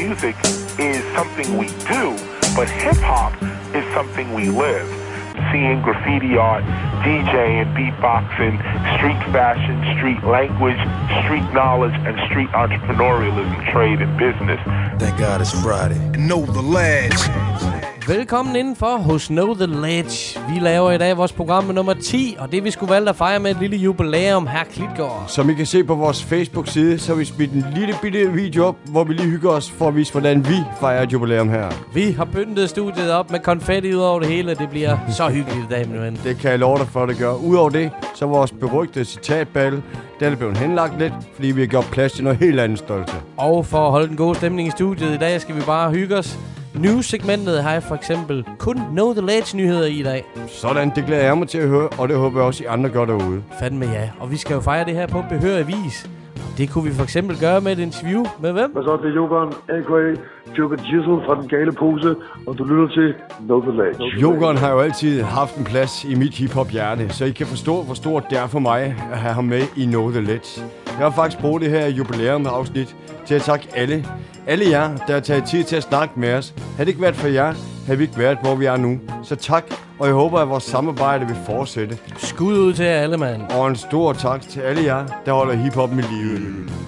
music is something we do, but hip-hop is something we live. Seeing graffiti art, DJing, beatboxing, street fashion, street language, street knowledge, and street entrepreneurialism, trade and business. Thank God it's Friday. Know the Ledge. Velkommen indenfor hos Know The Ledge. Vi laver i dag vores program med nummer 10, og det vi skulle valgte at fejre med et lille jubilæum her Klitgaard. Som I kan se på vores Facebook-side, så har vi smidt en lille bitte video op, hvor vi lige hygger os for at vise, hvordan vi fejrer et jubilæum her. Vi har pyntet studiet op med konfetti ud over det hele. Det bliver så hyggeligt i dag, min ven. Det kan jeg love dig for, det gør. Udover det, så vores berygtede citatbattle, den er blevet henlagt lidt, fordi vi har gjort plads til noget helt andet stolte. Og for at holde den gode stemning i studiet i dag, skal vi bare hygge os. News-segmentet har jeg for eksempel kun Know The Ledge-nyheder i dag. Sådan, det glæder jeg mig til at høre, og det håber jeg også, I andre gør derude. Fandme ja, og vi skal jo fejre det her på behørig vis. Det kunne vi for eksempel gøre med et interview med hvem? Hvad så, det er Jokeren, a.k.a. Joker Jizzle fra Den Gale Pose, og du lytter til Know The Ledge. Jokeren har jo altid haft en plads i mit hiphop-hjerte, så I kan forstå, hvor stort det er for mig at have ham med i Know The Ledge. Jeg har faktisk brugt det her jubilæum-afsnit til at takke alle jer, der har taget tid til at snakke med os. Havde det ikke været for jer, havde vi ikke været, hvor vi er nu. Så tak, og jeg håber, at vores samarbejde vil fortsætte. Skud ud til jer alle, mand. Og en stor tak til alle jer, der holder hiphoppen i live.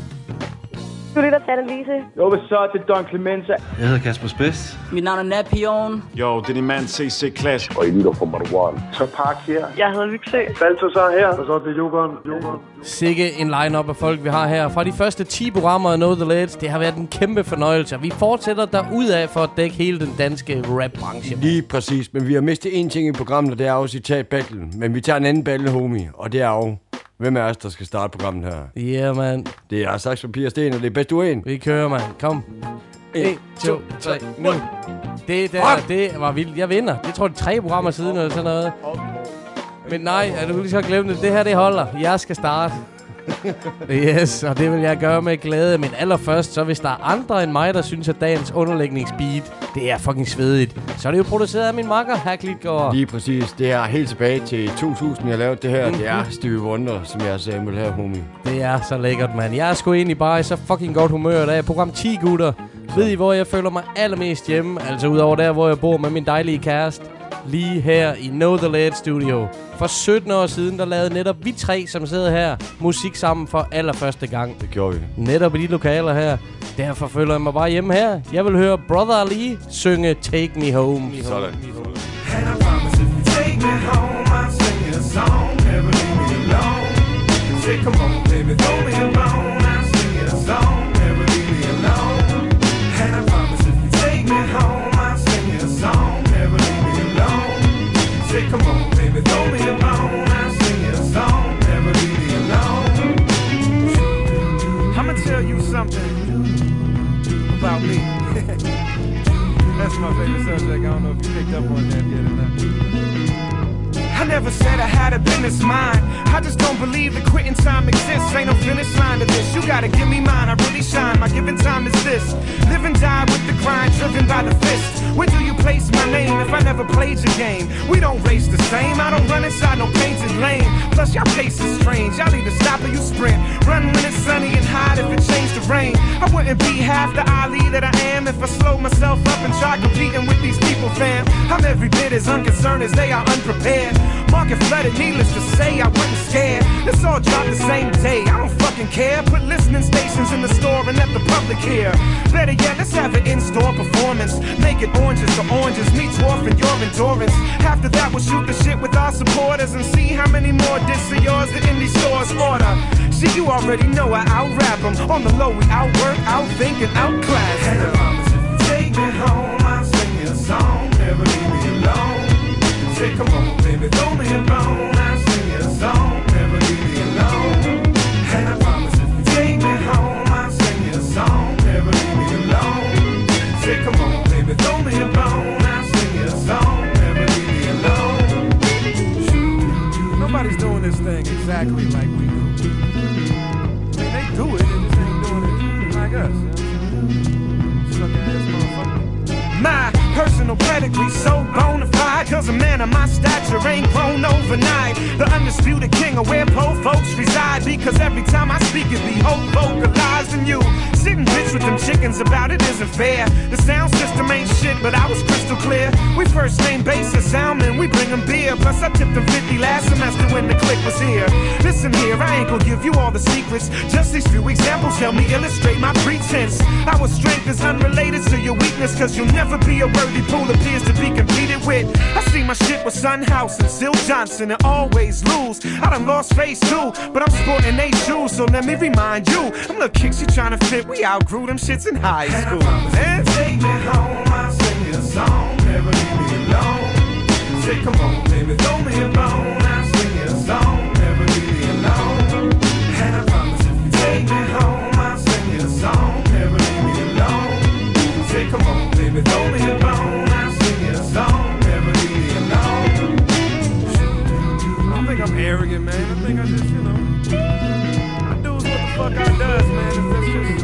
Du lytter til Annelise. Jo, hvad så? Det er Don Clemenza. Jeg hedder Kasper Spids. Mit navn er Napion. Jo, det er din mand CC Clash. Og I lytter fra Marwan. Så Park her. Jeg hedder Vyksø. Balthasar her. Hvad så, det er Jokeren. Sikke en line-up af folk, vi har her. Fra de første 10 programmer af Know The Ledge, det har været en kæmpe fornøjelse. Og vi fortsætter derudad for at dække hele den danske rap-branche. Lige præcis, men vi har mistet én ting i programmet, og det er jo citat-battle. Men vi tager en anden battle, homie, og det er jo... Hvem er os, der skal starte programmet her? Yeah, man. Det er saks, papir og sten, og det er bedst du en. Vi kører, man. Kom. 1, 2, 3, nu. Det der, det var vildt. Jeg vinder. Det tror jeg 3 programmer siden eller sådan noget. Men nej, du lige så glemme det. Det her, det holder. Jeg skal starte. Yes, og det vil jeg gøre med glæde. Men allerførst, så hvis der er andre end mig, der synes, at dagens underlægningsbeat, det er fucking svedigt, så er det jo produceret af min makker, her Klitgaard. Lige præcis. Det er helt tilbage til 2000, jeg lavede det her. Det er Stevie Wonder, som jeg sagde med her, homie. Det er så lækkert, mand. Jeg er sgu egentlig bare i så fucking godt humør i dag. Program 10, gutter. Ved I, hvor jeg føler mig allermest hjemme? Altså udover der, hvor jeg bor med min dejlige kæreste. Lige her i Know The Ledge Studio. For 17 år siden, der lavede netop vi 3, som sidder her, musik sammen for allerførste gang. Det gjorde vi. Netop i de lokaler her. Derfor føler jeg mig bare hjemme her. Jeg vil høre Brother Ali synge Take Me Home. Sådan. And I promise if you take me home, I'll sing you a song, never leave me alone. Say, come on, baby, throw me a bone, I'll sing you a song, never leave me alone. And I promise if you take me home, I'll sing you a song, never leave me alone. Say, come on, baby, throw me a bone, I'll sing you a song, never leave me alone. I'ma tell you something about me. That's my favorite subject. I don't know if you picked up on that yet or not. I never said I had a business mind. I just don't believe that quitting time exists. Ain't no finish line to this. You gotta give me mine. I really shine. My given time is this. Live and die with the grind, driven by the fist. Where do you place my name if I never played your game? We don't race the same. I don't run inside no painted lane. Plus y'all pace is strange. Y'all either stop or you sprint. Run when it's sunny and hot if it changed the rain. I wouldn't be half the Ali that I am if I slowed myself up and tried competing with these people, fam. I'm every bit as unconcerned as they are unprepared. Market flooded, needless to say, I wasn't scared. It's all dropped the same day, I don't fucking care. Put listening stations in the store and let the public hear. Better yet, let's have an in-store performance. Make it oranges to oranges, me dwarfing your endurance. After that, we'll shoot the shit with our supporters and see how many more discs of yours the indie stores order. See, you already know I out-rap them. On the low, we outwork, outthink, and outclass. And I promise if you take me home, I'll sing you a song, never leave me alone. Say, come on, baby, throw me a bone, I'll sing you a song, never leave me alone. And I promise if you take me home, I'll sing you a song, never leave me alone. Say, come on, baby, throw me a bone, I'll sing you a song, never leave me alone. Nobody's doing this thing exactly like we do. I mean, they do it, they just ain't doing it like us. Suck ass motherfucker. My personal pedigree so bona fide, cause a man of my stature ain't grown overnight. The undisputed king of where poor folks reside, because every time I speak it be hope vocalized in you. Sitting bitch with them chickens about it isn't fair. The sound system ain't shit, but I was crystal clear. We first name basis, Salmon, we bring them beer. Plus I tipped them 50 last semester when the click was here. Listen here, I ain't gonna give you all the secrets. Just these few examples help me illustrate my pretense. Our strength is unrelated to your weakness, cause you'll never be a worthy pool appears to be competed with. I see my shit with Son House and Sil Johnson and always lose. I done lost face too, but I'm sporting they shoes, so let me remind you, them little kicks you trying to fit, we outgrew them shits in high school. And take me home, I'll sing you a song, never leave me alone. Say come on baby, throw me a bone, I'll sing you a song, never leave me alone. And I promise if you take me home, I'll sing you a song, never leave me alone. Say come on baby, throw me a bone, I'll sing you a song, never leave me alone. I don't think I'm arrogant, man. I think I just, you know, I do what the fuck I does, man. That's just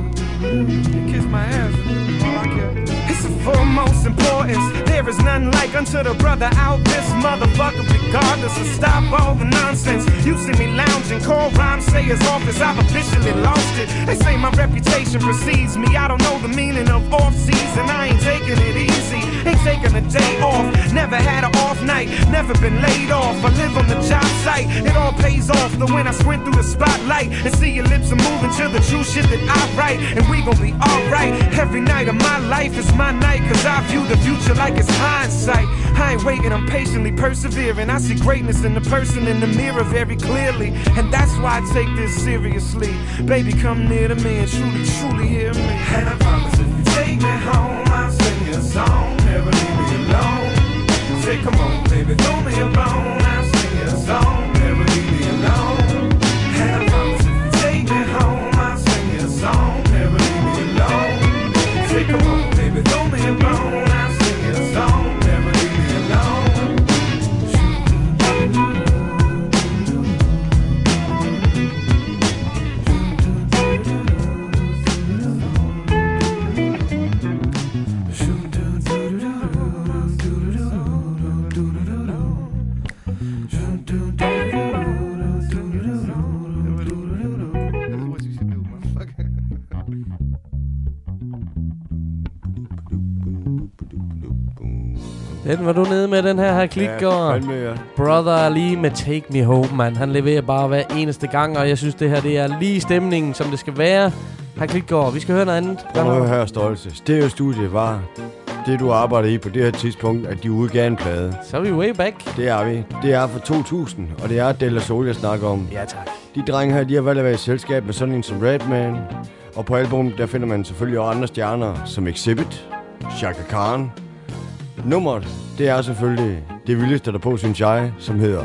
kiss my ass, all I care. It's of foremost importance. There is none like unto the brother out this motherfucker, regardless of stop all the nonsense. You see me lounging, call rhyme, say his office, I've officially lost it. They say my reputation precedes me. I don't know the meaning of off season. I ain't taking it easy, ain't taking a day off. Never had an off night, never been laid off. I live on the job site, it all pays off. The when I squint through the spotlight and see your lips are moving to the true shit that I write. And we gon' be alright. Every night of my life is my night, cause I view the future like it's hindsight. I ain't waiting, I'm patiently persevering. I see greatness in the person in the mirror very clearly, and that's why I take this seriously. Baby, come near to me and truly, truly hear me. And I promise if you take me home, I'll sing you a song, never leave me alone. Say come on baby, throw me a bone, I'll sing you a song, never leave me alone. And I promise if you take me home, I'll sing you a song, never leave me alone. Say come on baby, throw me a bone, I'll sing you a song, never leave me alone. Den var du nede med, den her Klitgaard. Ja. Brother Ali med Take Me Home, man. Han leverer bare hver eneste gang, og jeg synes, det her det er lige stemningen, som det skal være. Klitgaard, vi skal høre noget andet. Prøv at høre, Stolte. Stereo-studie var det, du arbejder i på det her tidspunkt, at de udgav en plade. Så er vi way back. Det er vi. Det er fra 2000, og det er Della Soul, jeg snakker om. Ja, tak. De drenge her, de har valgt at være i selskab med sådan en som Redman. Og på albumet, der finder man selvfølgelig også andre stjerner, som Exhibit, Chaka Khan. Nummeret, det er selvfølgelig det vildeste der på, synes jeg, som hedder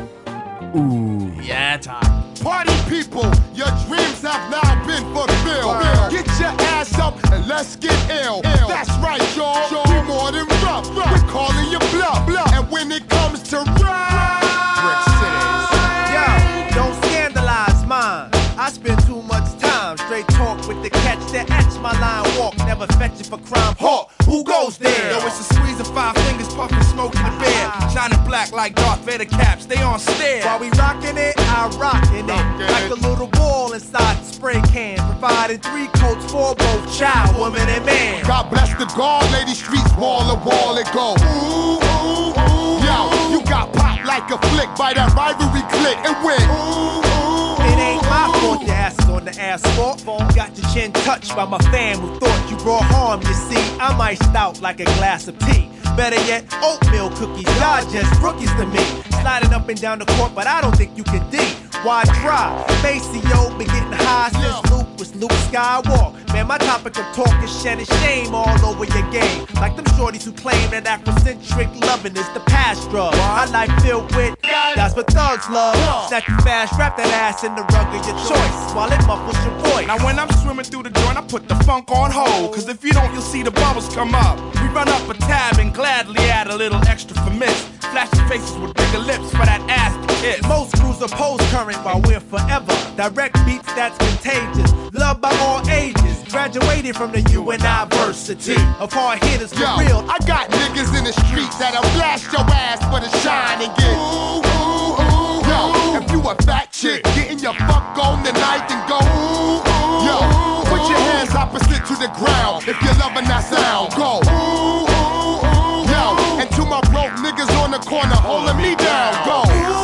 Ja, tak. Party people, your dreams have now been fulfilled. Get your ass up and let's get ill. That's right, y'all. We more than rough. We're calling you bluff. And when it comes to Brick City, yo, don't scandalize mine. I spend too much time straight talk with the catch that etch my line walk. Never fetch it for crime. Hawk, who goes there? Yo, it's a squeeze of 5 fingers, puffing smoke in the bed. Shining black like Darth Vader caps, they on stare. While we rockin' it, I rockin' it. Like a little ball inside the spray can. Providing 3 coats for both child, woman, and man. God bless the guard, lady streets, wall to wall it go. Ooh, ooh, ooh. Yo, you got popped like a flick by that rivalry click and went. Ooh, ooh. It ain't my fault your ass is on the asphalt. Got your chin touched by my fam who thought you brought harm. You see, I'm iced out like a glass of tea. Better yet, oatmeal cookies, y'all just rookies to me. Sliding up and down the court, but I don't think you can D. Why try? Maceo been getting high since Luke was Luke Skywalker. Man, my topic of talk is shedding shame all over your game. Like them shorties who claim that Afrocentric loving is the past drug. My life filled with, that's what thugs love. Snap you fast, wrap that ass in the rug of your choice while it muffles your voice. Now when I'm swimming through the joint, I put the funk on hold. Cause if you don't, you'll see the bubbles come up. We run up a tab and gladly add a little extra for miss. Flashing faces with bigger lips for that ass to kiss. Most crews oppose current while we're forever. Direct beats that's contagious, loved by all ages. Graduated from the University of hard hitters for real. I got niggas in the street that'll blast your ass for the shine and get ooh, ooh, ooh. Yo, if you a fat chick, getting your fuck on tonight and go ooh, ooh. Yo, put your hands opposite to the ground if you're loving that sound. Go ooh, ooh, ooh. Yo, and to my broke niggas on the corner holding me down. Go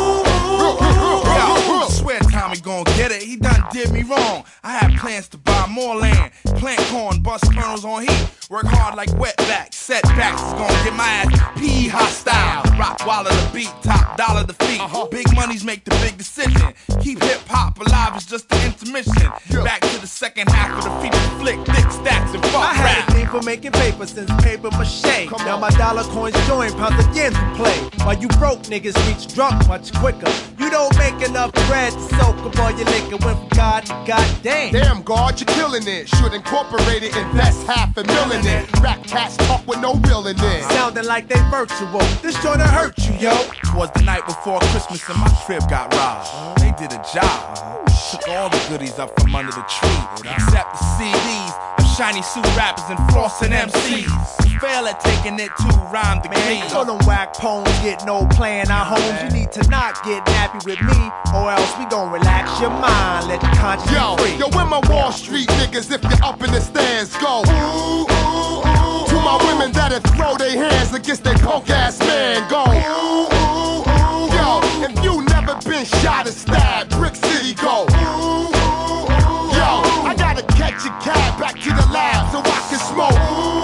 swear Tommy gon' get it, he done did me wrong. I had plans to buy more land, plant corn, bust kernels on heat, work hard like wetbacks. Setbacks is gon' get my ass PE hostile. Rock Waller the beat, top dollar the feet. Big monies make the big decision. Keep hip hop alive, it's just the intermission. Back to the second half of the feature flick, thick stacks and fuck I had a thing for making paper since paper mache. Now my dollar coins join pounds again to play. While you broke niggas reach drunk much quicker. You don't make enough bread to soak up all your liquor. Went from God to goddamn. Damn, God, you're killing it. Should incorporate it, invest $500,000 in it. Rap cats talk with no real in it. Sounding like they virtual. This joint'll hurt you, yo. Twas the night before Christmas and my crib got robbed. They did a job. Took all the goodies up from under the tree, except the CDs of shiny suit rappers and flossing MCs. Fail at taking it to rhyme the game. So them whack poems get no playing our homes. You need to not get nappy with me, or else we gon' relax your mind. Let the conscience free. Yo, where my Wall Street niggas if you're up in the stands? Go ooh, ooh, ooh. To my women that'll throw their hands against their punk ass man. Go ooh, ooh, ooh. Yo, if you never been shot or stabbed, Brick City go ooh, ooh, ooh. Yo, I gotta catch a cab back to the lab so I can smoke.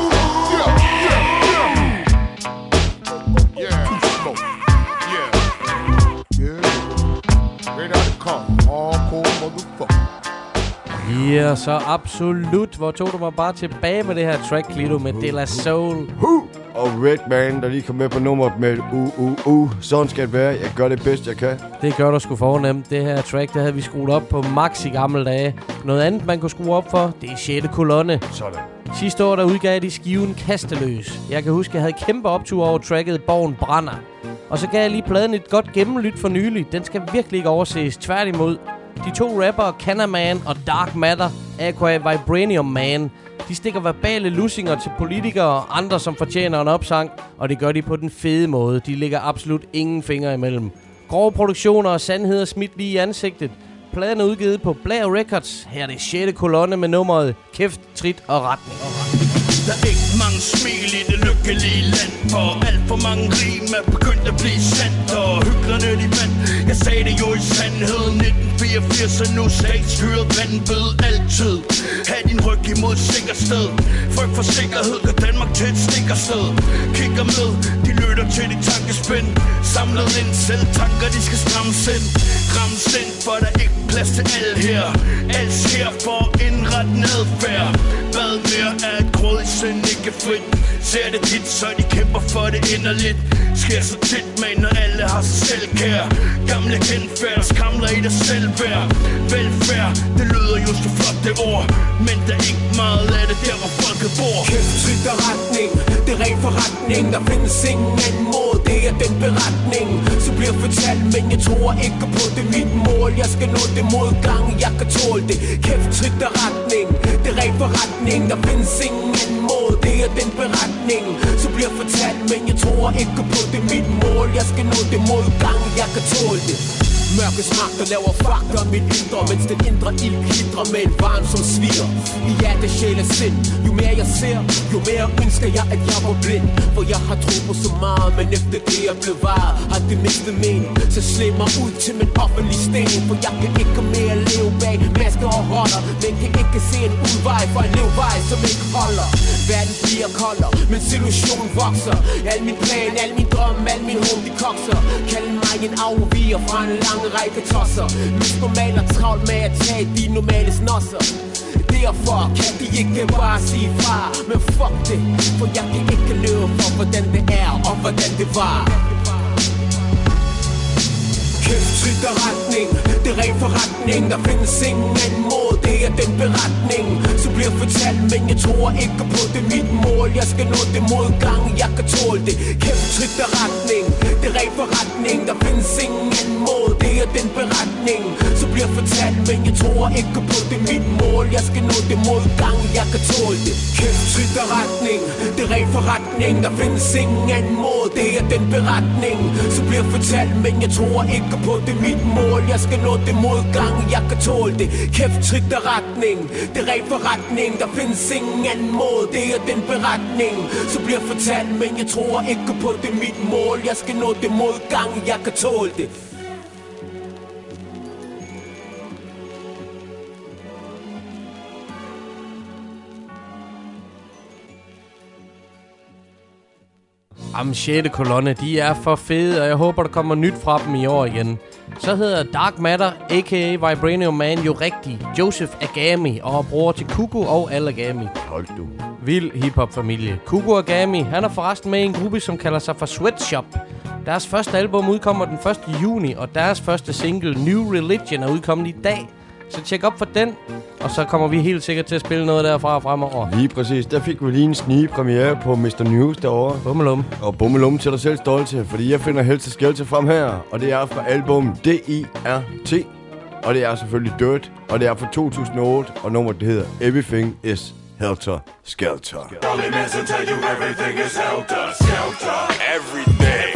Ja, så absolut. Hvor tog du mig bare tilbage med det her track, Klito, med De La Soul. Og Redman, der lige kom med på nummeret med Sådan skal det være. Jeg gør det bedst, jeg kan. Det gør du sgu fornemt. Det her track, der havde vi skruet op på max i gamle dage. Noget andet, man kunne skrue op for, det er 6. kolonne. Sådan. Sidste år, der udgav de skiven Kasteløs. Jeg kan huske, jeg havde kæmpe optur over tracket Borgen Brænder. Og så gav jeg lige pladen et godt gennemlyt for nylig. Den skal virkelig ikke overses. Tværtimod. De to rappere, Cannaman og Dark Matter, aka Vibranium Man, de stikker verbale lussinger til politikere og andre, som fortjener en opsang, og det gør de på den fede måde. De lægger absolut ingen fingre imellem. Grove produktioner og sandheder smidt lige i ansigtet. Pladen er udgivet på Blair Records. Her er det 6. kolonne med nummeret Kæft, Trit og Retning. Der er ikke mange smil i det lykkelige land, for alt for mange rim er begyndt at blive sandt, og hyklerne de vandt. Jeg sagde det jo i sandhed 1984, og nu statsstyret vanvid altid. Ha' din ryg imod sikker sted. Frygt for sikkerhed gør Danmark til et stikkersted. Kigger med, de lytter til de tankespænd. Samlet ind, selv tanker de skal strammes ind. Rammes ind, for der er ikke plads til alt her. Alt sker for at indrette en adfærd. Hvad mere er et gråd i sind ikke frit. Ser det tit, så de kæmper for det inderligt. Sker så tit, men når alle har sig selv kær. Gamle genfærd, skramler i dig selvværd. Velfærd, det lyder jo så flot det ord, men der er ikke meget af det der, hvor folket bor. Kæft, trit og retning, det er ren forretning. Der findes ingen anden måde, det er den beretning som bliver fortalt, men jeg tror ikke på det. Mit mål, jeg skal nå det modgang, jeg kan tåle det. Kæft, trit og retning, det er ren forretning. Der findes ingen anden måde, det er den beretning som bliver fortalt, men jeg tror ikke på det. Mit mål, jeg skal nå det modgang, jeg kan tåle det. Mørkets magter laver fakter mit indre, mens den indre ild glitrer med en varm som sviger i hjerte, sjæl og sind. Jo mere jeg ser, jo mere ønsker jeg, at jeg var blind. For jeg har tro på så meget, men efter det jeg blev varet, har det mistet mening. Så slæb mig ud til min offentlige sten, for jeg kan ikke mere leve bag masker og roller, men kan ikke se en udvej for en levevej, som ikke holder. Verden bliver koldere, men situationen vokser. Al min plan, al min drøm, al min håb, de kokser. Kald mig en afviger fra en lang række tosser. Mis normaler travlt med at tage de normale snosser. Derfor kan de ikke bare sige fra. Men fuck det, for jeg kan ikke løbe for hvordan det er og hvordan det var. Kæft, trit og retning, det er ren forretning. Der findes ingen anden måde, det er den beretning som bliver fortalt, men jeg tror ikke på det. Mit mål, jeg skal nå det modgang, jeg kan tåle det. Kæft, trit og retning, det er ren forretning. Der findes ingen anden måde, det er den beretning som bliver bliver fortalt, men jeg tror ikke på det mit mål. Jeg skal nå det modgang, jeg kan tåle det. Kæft, trit og retning, det er ren forretning. Der findes ingen anden måde, det er den beretning, så bliver fortalt, men jeg tror ikke på det mit mål. Jeg skal nå det modgang, jeg kan tåle det. Kæft, trit og retning, det er ren forretning. Der findes ingen anden måde, det er den beretning, så bliver fortalt, men jeg tror ikke på det mit mål. Jeg skal nå det modgang, jeg kan tåle det. Jamen, 6. kolonne, de er for fede, og jeg håber, der kommer nyt fra dem i år igen. Så hedder Dark Matter, a.k.a. Vibranium Man, jo rigtig Joseph Agami, og bror til Kuku og Al Agami. Hold du. Vild hiphop-familie. Kuku Agami, han er forresten med i en gruppe, som kalder sig for Sweatshop. Deres første album udkommer den 1. juni, og deres første single, New Religion, er udkommet i dag. Så tjek op for den, og så kommer vi helt sikkert til at spille noget derfra fremover. Lige præcis. Der fik vi lige en snige-premiere på Mr. News derovre. Bummelum. Og bummelum til dig selv stolte, fordi jeg finder Helse Skelte frem her. Og det er fra album D.I.R.T. Og det er selvfølgelig Dirt. Og det er fra 2008, og nummeret det hedder Everything is Helter Skelter. Rolling as I tell you everything is helter skelter. Every day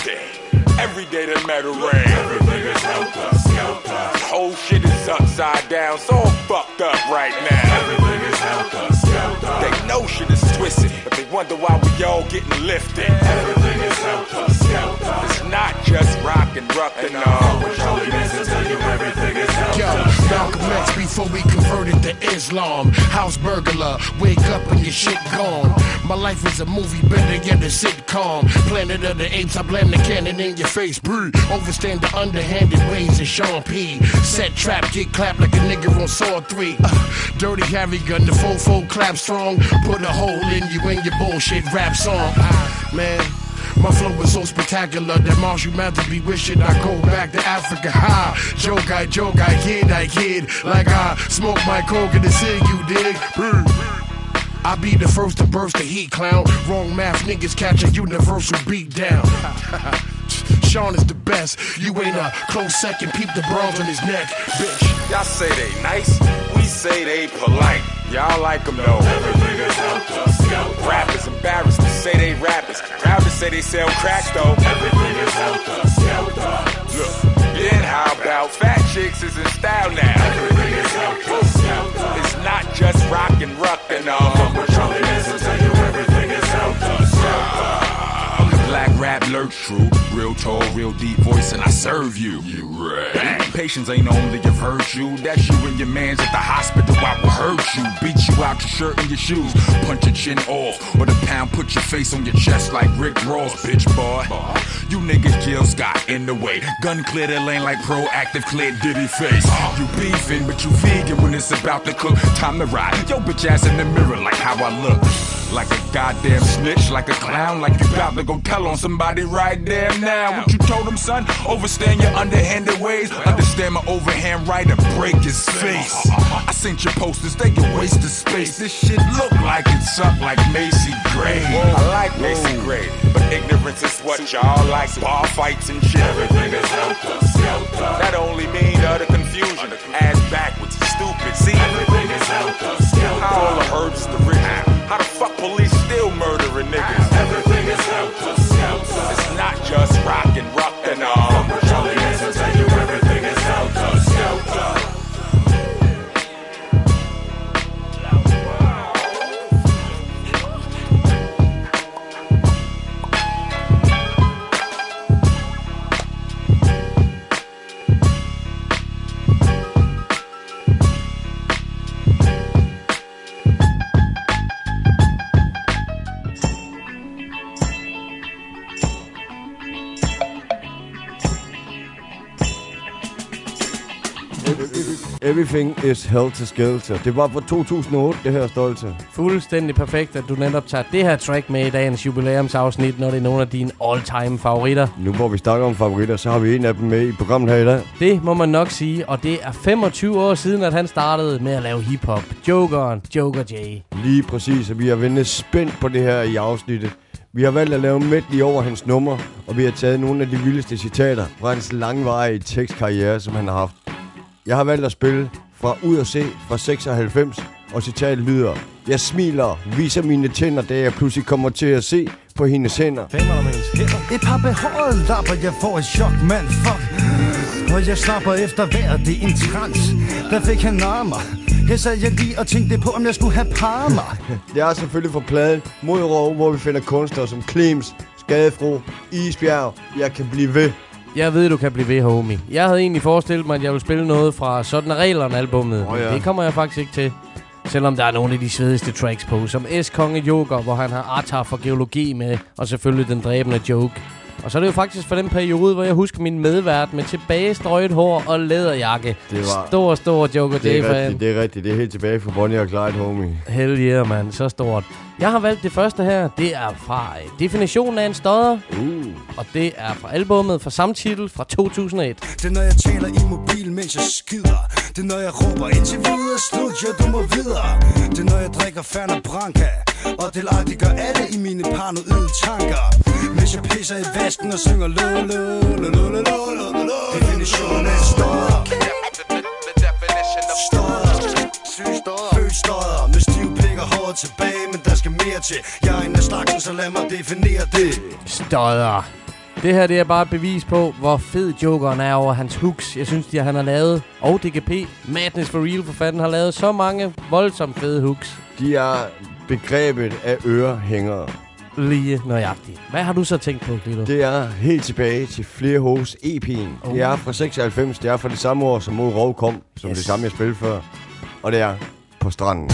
that metal rain. Everything is helter skelter. Whole shit is upside down, so I'm fucked up right now. Everything is helter skelter. They know shit is twisted, but they wonder why we all getting lifted. Everything is helter skelter. It's not just rock and no. Rolling as I tell you everything is helter. Yo, Malcolm X before we converted to Islam. House burglar, wake up and your shit gone. My life is a movie, better get a sitcom. Planet of the Apes, I blame the cannon in your face. Breathe. Overstand the underhanded ways of Sean P. Set trap, get clapped like a nigga on Saw 3. Dirty Harry gun, the fofo clap strong. Put a hole in you in your bullshit rap song. Man, my flow is so spectacular that Marshall Mathers be wishing I go back to Africa. Ha! Joke, I kid. Like I smoke my coke and the cig, you dig? I be the first to burst the heat, clown. Wrong math, niggas catch a universal beat down. Sean is the best. You ain't a close second. Peep the bronze on his neck, bitch. Y'all say they nice, we say they polite. Y'all like them though. Everything is helter skelter. Rappers embarrassed to say they rappers. Proud to say they sell crack though. Everything is helter skelter. Look, then how about fat chicks is in style now? Everything is helter skelter. It's not just rock and all. Rolling as I tell you everything is helter skelter. Black rap lurch true, real tall, real deep voice, and I serve you. You right. Patience ain't only a virtue. That's you and your mans at the hospital. I will hurt you, beat you out your shirt and your shoes, punch your chin off, or the pound put your face on your chest like Rick Ross, bitch boy. You niggas Jill Scott in the way. Gun clear the lane like proactive clear Diddy face. You beefing, but you vegan when it's about to cook. Time to ride. Yo bitch ass in the mirror like how I look. Like a goddamn snitch, like a clown, like you about to go tell on somebody right there now. What you told him, son? Overstand your underhanded ways. Understand my overhand right and break his face. I sent your posters, they a waste of space. This shit look like it's up like Macy Gray. I like Macy Gray, but ignorance is what y'all like. Bar fights and shit. Everything is helter skelter. That only mean utter confusion. Ass backwards, stupid. See, everything is helter skelter. How all the herbs is the rich. How the fuck police still murdering niggas? Everything is helter skelter. It's not just rock and all. Rolling as I tell you everything is helter skelter. Everything is Helter Skelter. Det var fra 2008, det her stolte. Fuldstændig perfekt, at du netop tager det her track med i dagens jubilæumsafsnit, når det er nogle af dine all-time favoritter. Nu hvor vi snakker om favoritter, så har vi en af dem med i programmet her i dag. Det må man nok sige, og det er 25 år siden, at han startede med at lave hiphop. Joker J. Lige præcis, og vi har ventet spændt på det her i afsnittet. Vi har valgt at lave medley over hans nummer, og vi har taget nogle af de vildeste citater fra hans langvarige tekstkarriere, som han har haft. Jeg har valgt at spille fra Ud at se fra 96, og citatet lyder: jeg smiler, viser mine tænder, da jeg pludselig kommer til at se på hendes hænder. Et par behårede lapper, jeg får et chok, mand, fuck. Og jeg slapper efter vejret, det er en trans. Der fik han armer. Her sad jeg lige og tænkte på, om jeg skulle have parmer. Det er selvfølgelig fra pladen Mod Rov, hvor vi finder kunstnere som Klems, Skadefro, Isbjerg. Jeg kan blive ved. Jeg ved, du kan blive ved, homie. Jeg havde egentlig forestillet mig, at jeg ville spille noget fra Sådan er reglerne albummet. Ja. Det kommer jeg faktisk ikke til. Selvom der er nogle af de svedigste tracks på, som S-Konge Joker, hvor han har Artar for geologi med, og selvfølgelig den dræbende joke. Og så er det jo faktisk for den periode, hvor jeg husker min medvært med tilbagestrøget hår og læderjakke. Det var stor Joker J-fan. Det er rigtigt. Det er helt tilbage fra Bonnie og Clyde, homie. Hell yeah, man. Så stort. Jeg har valgt det første her. Det er fra Definitionen af en stodder. Og det er fra albummet fra samme titel fra 2001. Det er når jeg taler i mobil, mens jeg skider. Det er når jeg råber indtil videre, slut, ja, du må videre. Det er når jeg drikker Fernet Branca. Og delagtigt gør alle i mine paranoide tanker. Mens jeg pisser i vasken og synger lo, lo, lo, lo, lo, lo, lo, lo. Definitionen af stodder. Født stodder med stiv pik og håret tilbage, men der skal mere til. Jeg er en af slagsen, så lad mig definere det. Stodder. Det her, det er bare et bevis på, hvor fed Jokeren er over hans hooks. Jeg synes, han har lavet, og DGP, Madness for Real for fanden, har lavet så mange voldsomt fede hooks. De er begrebet af ørehængere. Lige nøjagtigt. Hvad har du så tænkt på, Glito? Det er helt tilbage til Flere Hos EP'en. Det er fra 96. Det er fra det samme år, som Mod Rov kom, som det samme, jeg spillede før. Og det er På stranden.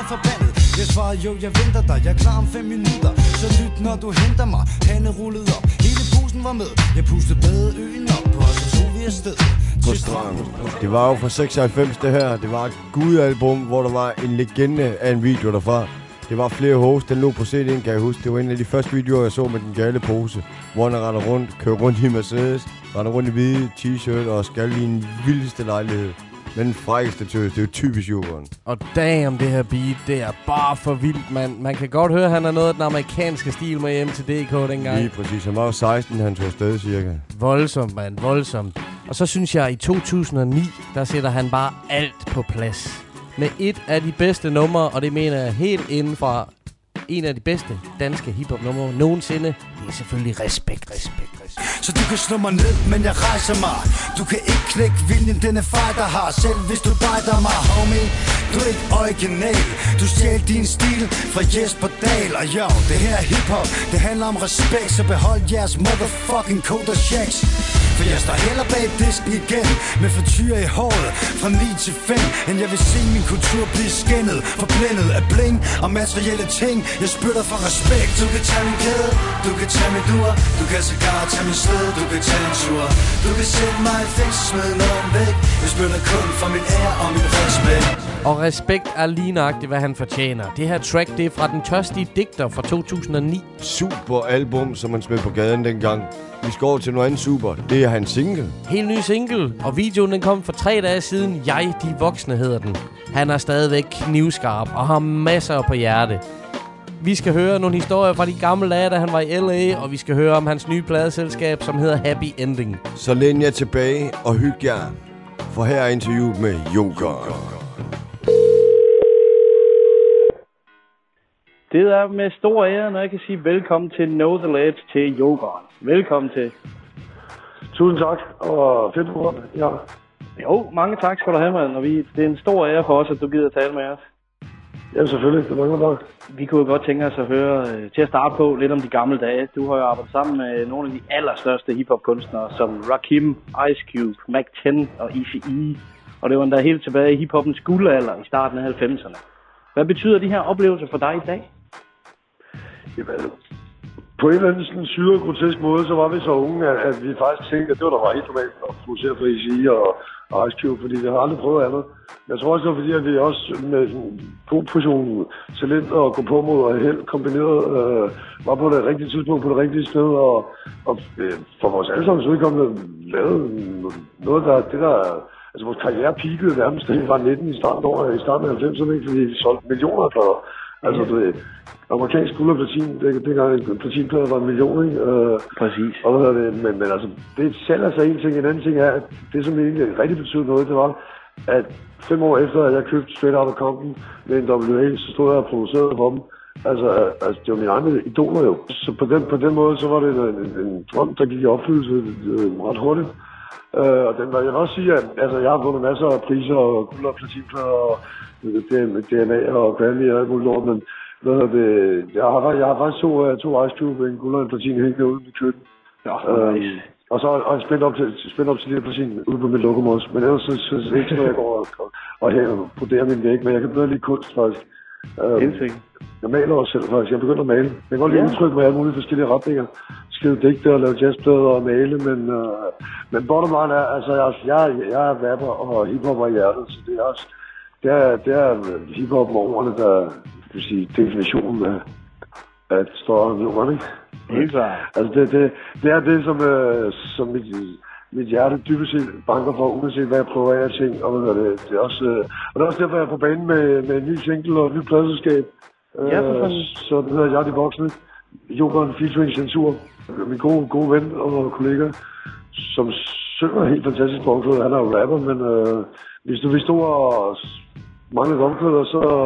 Jeg svarer jo, jeg venter dig, jeg er klar om 5 minutter. Så lyt, når du henter mig. Hande rullede op, hele bussen var med. Jeg pustede badeøen op, og så tog vi afsted På stranden. Det var jo fra 96 det her. Det var et gudalbum, hvor der var en legende af en video derfra. Det var Flere Hos, den lå på CD'en, kan jeg huske. Det var en af de første videoer, jeg så med den gale pose. Hvor han render rundt, kører rundt i Mercedes, render rundt i hvide t-shirt og skal i en vildeste lejlighed. Men den frækkeste tøs, det er jo typisk Jokeren. Og damn, det her beat, det er bare for vildt, mand. Man kan godt høre, at han er noget af den amerikanske stil med MTDK dengang. Lige præcis. Han var jo 16, han tog afsted cirka. Voldsomt, mand. Voldsomt. Og så synes jeg, i 2009, der sætter han bare alt på plads. Med et af de bedste numre, og det mener jeg helt inden fra en af de bedste danske hiphop-numre nogensinde. Det er selvfølgelig Respekt. Så du kan slå mig ned, men jeg rejser mig. Du kan ikke knække viljen, denne fighter har. Selv hvis du bejder mig, homie. Du er ikke original. Du stjal din stil fra Jesper Dahl. Og jo, det her er hiphop. Det handler om respekt, så behold jeres motherfucking Koda Shacks. For jeg står heller bag disken igen med frityre i håret fra 9 til 5. End jeg vil se min kultur blive skændet, forblændet af bling og materielle ting. Jeg spytter for respekt. Du kan tage min kæde, du kan tage min dur, du kan sågar tage min sled, du kan tage en tur. Du kan sætte mig i fængsel, smid noget væk. Jeg spytter kun for min ære og min respekt. Og respekt er lige nøjagtigt, hvad han fortjener. Det her track, det er fra Den Tørstige Digter fra 2009. Super album, som man smed på gaden dengang. Vi skal over til noget andet super. Det er hans single. Helt ny single. Og videoen den kom for 3 dage siden. Jeg, de voksne hedder den. Han er stadigvæk knivskarp og har masser på hjerte. Vi skal høre nogle historier fra de gamle dage, da han var i LA. Og vi skal høre om hans nye pladeselskab, som hedder Happy Ending. Så læn jer tilbage og hygge jer. For her er interviewet med Joker. Det er med stor ære, når jeg kan sige velkommen til Know The Ledge til Jokeren. Velkommen til. Tusind tak, og fedt program. Ja. Jo, mange tak skal du have, mand. Og det er en stor ære for os, at du gider tale med os. Ja, selvfølgelig. Det var nok. Vi kunne jo godt tænke os at høre til at starte på lidt om de gamle dage. Du har jo arbejdet sammen med nogle af de allerstørste hiphop-kunstnere, som Rakim, Ice Cube, Mac 10 og Eazy-E. Og det var endda helt tilbage i hiphoppens guldalder i starten af 90'erne. Hvad betyder de her oplevelser for dig i dag? Jamen, på en eller anden sådan syret grotesk måde, så var vi så unge, at vi faktisk tænkte, at det var der var helt normalt at producere for Eazy-E og Ice Cube, fordi vi har aldrig prøvet andet. Jeg tror også, det var fordi, at vi også med en god portion talent og gå på mod og held kombineret var på det rigtige tidspunkt, på det rigtige sted, og for vores allesammens udkommende lavede noget, altså vores karriere peakede nærmest, da vi var 19 i starten af 90'erne, fordi vi solgte millioner af plader. Altså, du ved, amerikansk guld og platin, dengang en platinplade var 1 million, ikke? Præcis. Og men altså, det sælger sig en ting. En anden ting er, at det, som egentlig rigtig betød noget, det var, at 5 år efter, at jeg købte Straight Outta Compton med en WA, så stod jeg og producerede for dem. Altså, det var mine egne idoler jo. Så på den måde, så var det en drøm, der gik i opfyldelse ret hurtigt. Og jeg vil også sige, at altså, jeg har vundet masser af priser og guld og platinplader og DNA og Grammy og alt muligt lort, men jeg har faktisk to Ice Cube, en guld og en platin hængende ude i køkken. Ja, og så er jeg spændt op til de her platin ude på mit lokum også. Men ellers så ikke sådan, at jeg går og broderer min væg, men jeg kan bedre lide kunst faktisk. Jeg maler også selv faktisk. Jeg begynder at male. Jeg kan godt lide udtrykke med alle mulige forskellige retninger. Skrive digte og lave jazzplader og male, men bottom line er, altså jeg er rapper og hiphopper i hjertet, så det er hiphop med ordene, der vil sige definitionen af et større nummer, ikke? Helt klart. Altså det er det, som mit hjerte dybest set banker for, uanset hvad jeg prøver af ting. Og det er også derfor, jeg er på banen med en ny single og et nyt pladeselskab. Ja, så det hedder Jeg de Voksne. Jokeren featuring Censur. Min gode ven og kollega, som synger helt fantastisk på omklæder. Han er jo rapper, men hvis du stod og manglede omklæder,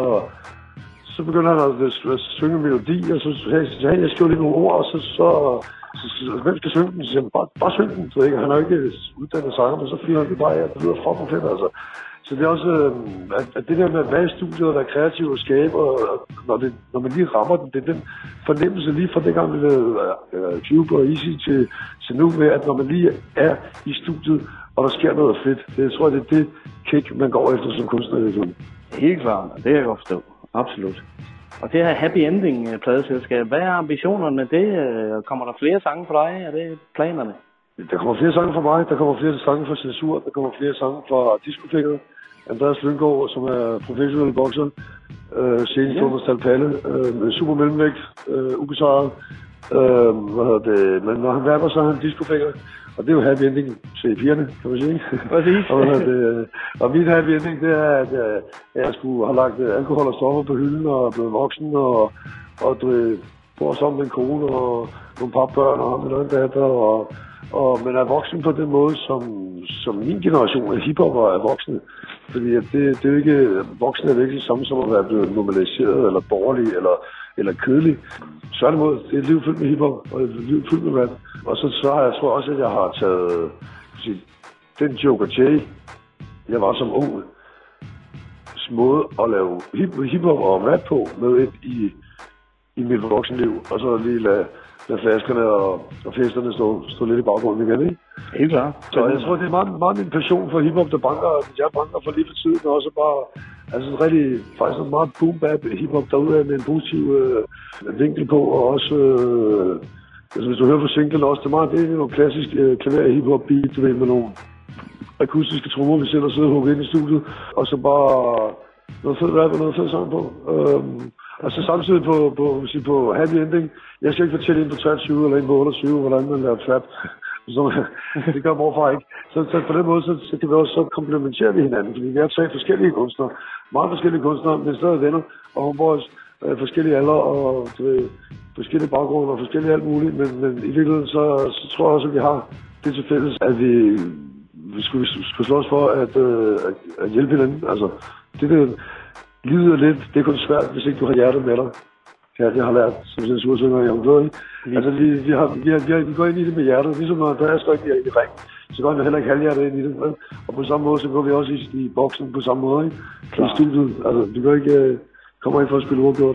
så begynder han at synge en melodi, og så jeg skriver lige nogle ord, og så hvem skal synge den? Så siger han, bare syng den, så ikke? Han er jo ikke uddannet sanger, men så fyrer han det bare af, det lyder fucking fedt, altså. Så det er også, at det der med at være i studiet og være kreativ og skabe, og når man lige rammer den, det er den fornemmelse lige fra dengang, vi lavede Cube og Easy til nu, med at når man lige er i studiet, og der sker noget fedt, det tror jeg, det er det kick, man går efter som kunstner. Helt klart, det kan jeg godt forstå. Absolut. Og det her Happy Ending pladeselskab, hvad er ambitionerne? Kommer der flere sange for dig? Er det planerne? Der kommer flere sange fra mig, der kommer flere sange fra Censur, der kommer flere sange fra Discofinger, Andreas Lynggaard, som er professionel bokser, senest under Stalpalle, super mellemvægt, ubesejret. Men når han rapper, så er han Discofinger. Og det er jo happy ending til pigerne, kan man sige. Præcis. og min happy ending, det er, at jeg skulle have lagt alkohol og stoffer på hylden og er blevet voksen og bor sammen med en kone og nogle par børn og en anden datter. Men er voksen på den måde, som min generation af hiphopper er voksne. Fordi at det er jo ikke, voksne er virkelig det samme som at være blevet normaliseret eller dårlig eller kedelig. Tværtimod, det er et liv fyldt med hiphop, og et liv fyldt med vand. Og så har jeg tror også, at jeg har taget den Joker J, jeg var som ung, måde at lave hiphop og rap på med i mit voksenliv. Og så lige lade flaskerne og festerne stå lidt i baggrunden igen, ikke? Helt klart. Så jeg tror, det er meget min passion for hiphop, der banker for lige for tiden, og også bare, altså rigtig, faktisk en meget boom-bap hiphop derude med en positiv vinkel på, og også, altså hvis du hører på singlen også, det er nogle klassisk klaver hiphop beat, du ved, med nogle akustiske trommer, vi selv har siddet og hugget ind i studiet, og så bare noget fedt rap og noget fedt sang på. Og så samtidig på Happy Ending, jeg skal ikke fortælle ind på 23 eller ind på 28, hvordan man laver trap. Det gør morfar ikke. Så på den måde, så kan vi også så komplementere vi hinanden, fordi vi er 3 forskellige kunstnere, meget forskellige kunstnere, men stadig venner og homeboys, forskellige alder og forskellige baggrunde og forskellige alt muligt, men i virkeligheden så tror jeg også, at vi har det til fælles, at vi skulle slås for at hjælpe hinanden. Altså, livet er lidt, det er kun svært, hvis ikke du har hjertet med dig. Jeg har lært som censursynger i området. Altså, vi går ind i det med hjertet, ligesom når Andreas går ind i ring, så går vi heller ikke halvhjertet ind i det. Og på samme måde, så går vi også i boksen på samme måde, ikke? I studiet. Altså, vi går ikke, kommer ind for at spille uafgjort.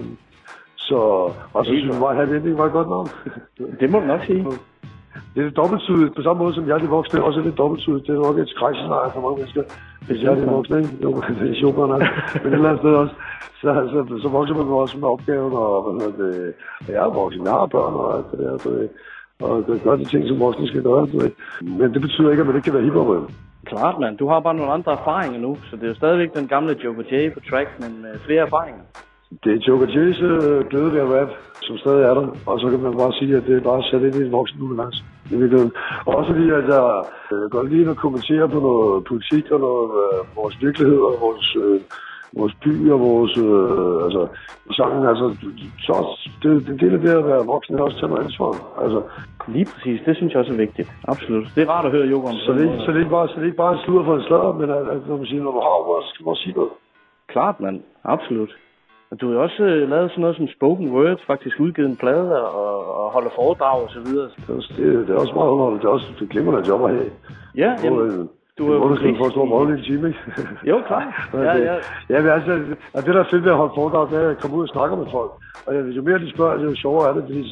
Og så synes jeg, Happy Ending var et godt navn. Det må du nok sige. Det er dobbelttydigt, på samme måde som jeg er de voksne, også er det dobbelttydigt. Det er nok et skrækscenarie for mange mennesker. Hvis jeg er de voksne, ikke? Jo, det er sjovt, men et eller andet sted også. Så vokser man også med opgaven, og jeg er voksen, jeg har børn og alt det der, og gør de ting, som voksne skal gøre. Men det betyder ikke, at man ikke kan være hiphopper. Klart, mand. Du har bare nogle andre erfaringer nu, så det er jo stadigvæk den gamle Joker J på track, men med flere erfaringer. Det er Joker J's glæde ved at rap, som stadig er der, og så kan man bare sige, at det er bare sat ind i en voksen nuance. Og også fordi, at jeg godt lide at kommentere på noget politik og noget vores virkelighed og vores vores by og vores sangen. Altså, så det er en del af det at være voksen, også tage noget ansvar. Altså, lige præcis, det synes jeg også er vigtigt. Absolut. Det er rart at høre Joko om. Så det er ikke bare en sludder for en sladder, men når man siger, når du har ord, så skal man også sige noget. Klart, mand. Absolut. Og du har jo også lavet sådan noget som spoken word, faktisk udgivet en plade og holder foredrag og så videre. Det er også meget underholdt. Det er også et glimrende job at have. Ja, jamen, du er jo for at stå og rolle i en time, ikke? Jo, klart. Ja, men altså, det der er fedt ved at holde foredrag, det er at komme ud og snakke med folk. Og jo mere de spørger, jo sjovere er det, fordi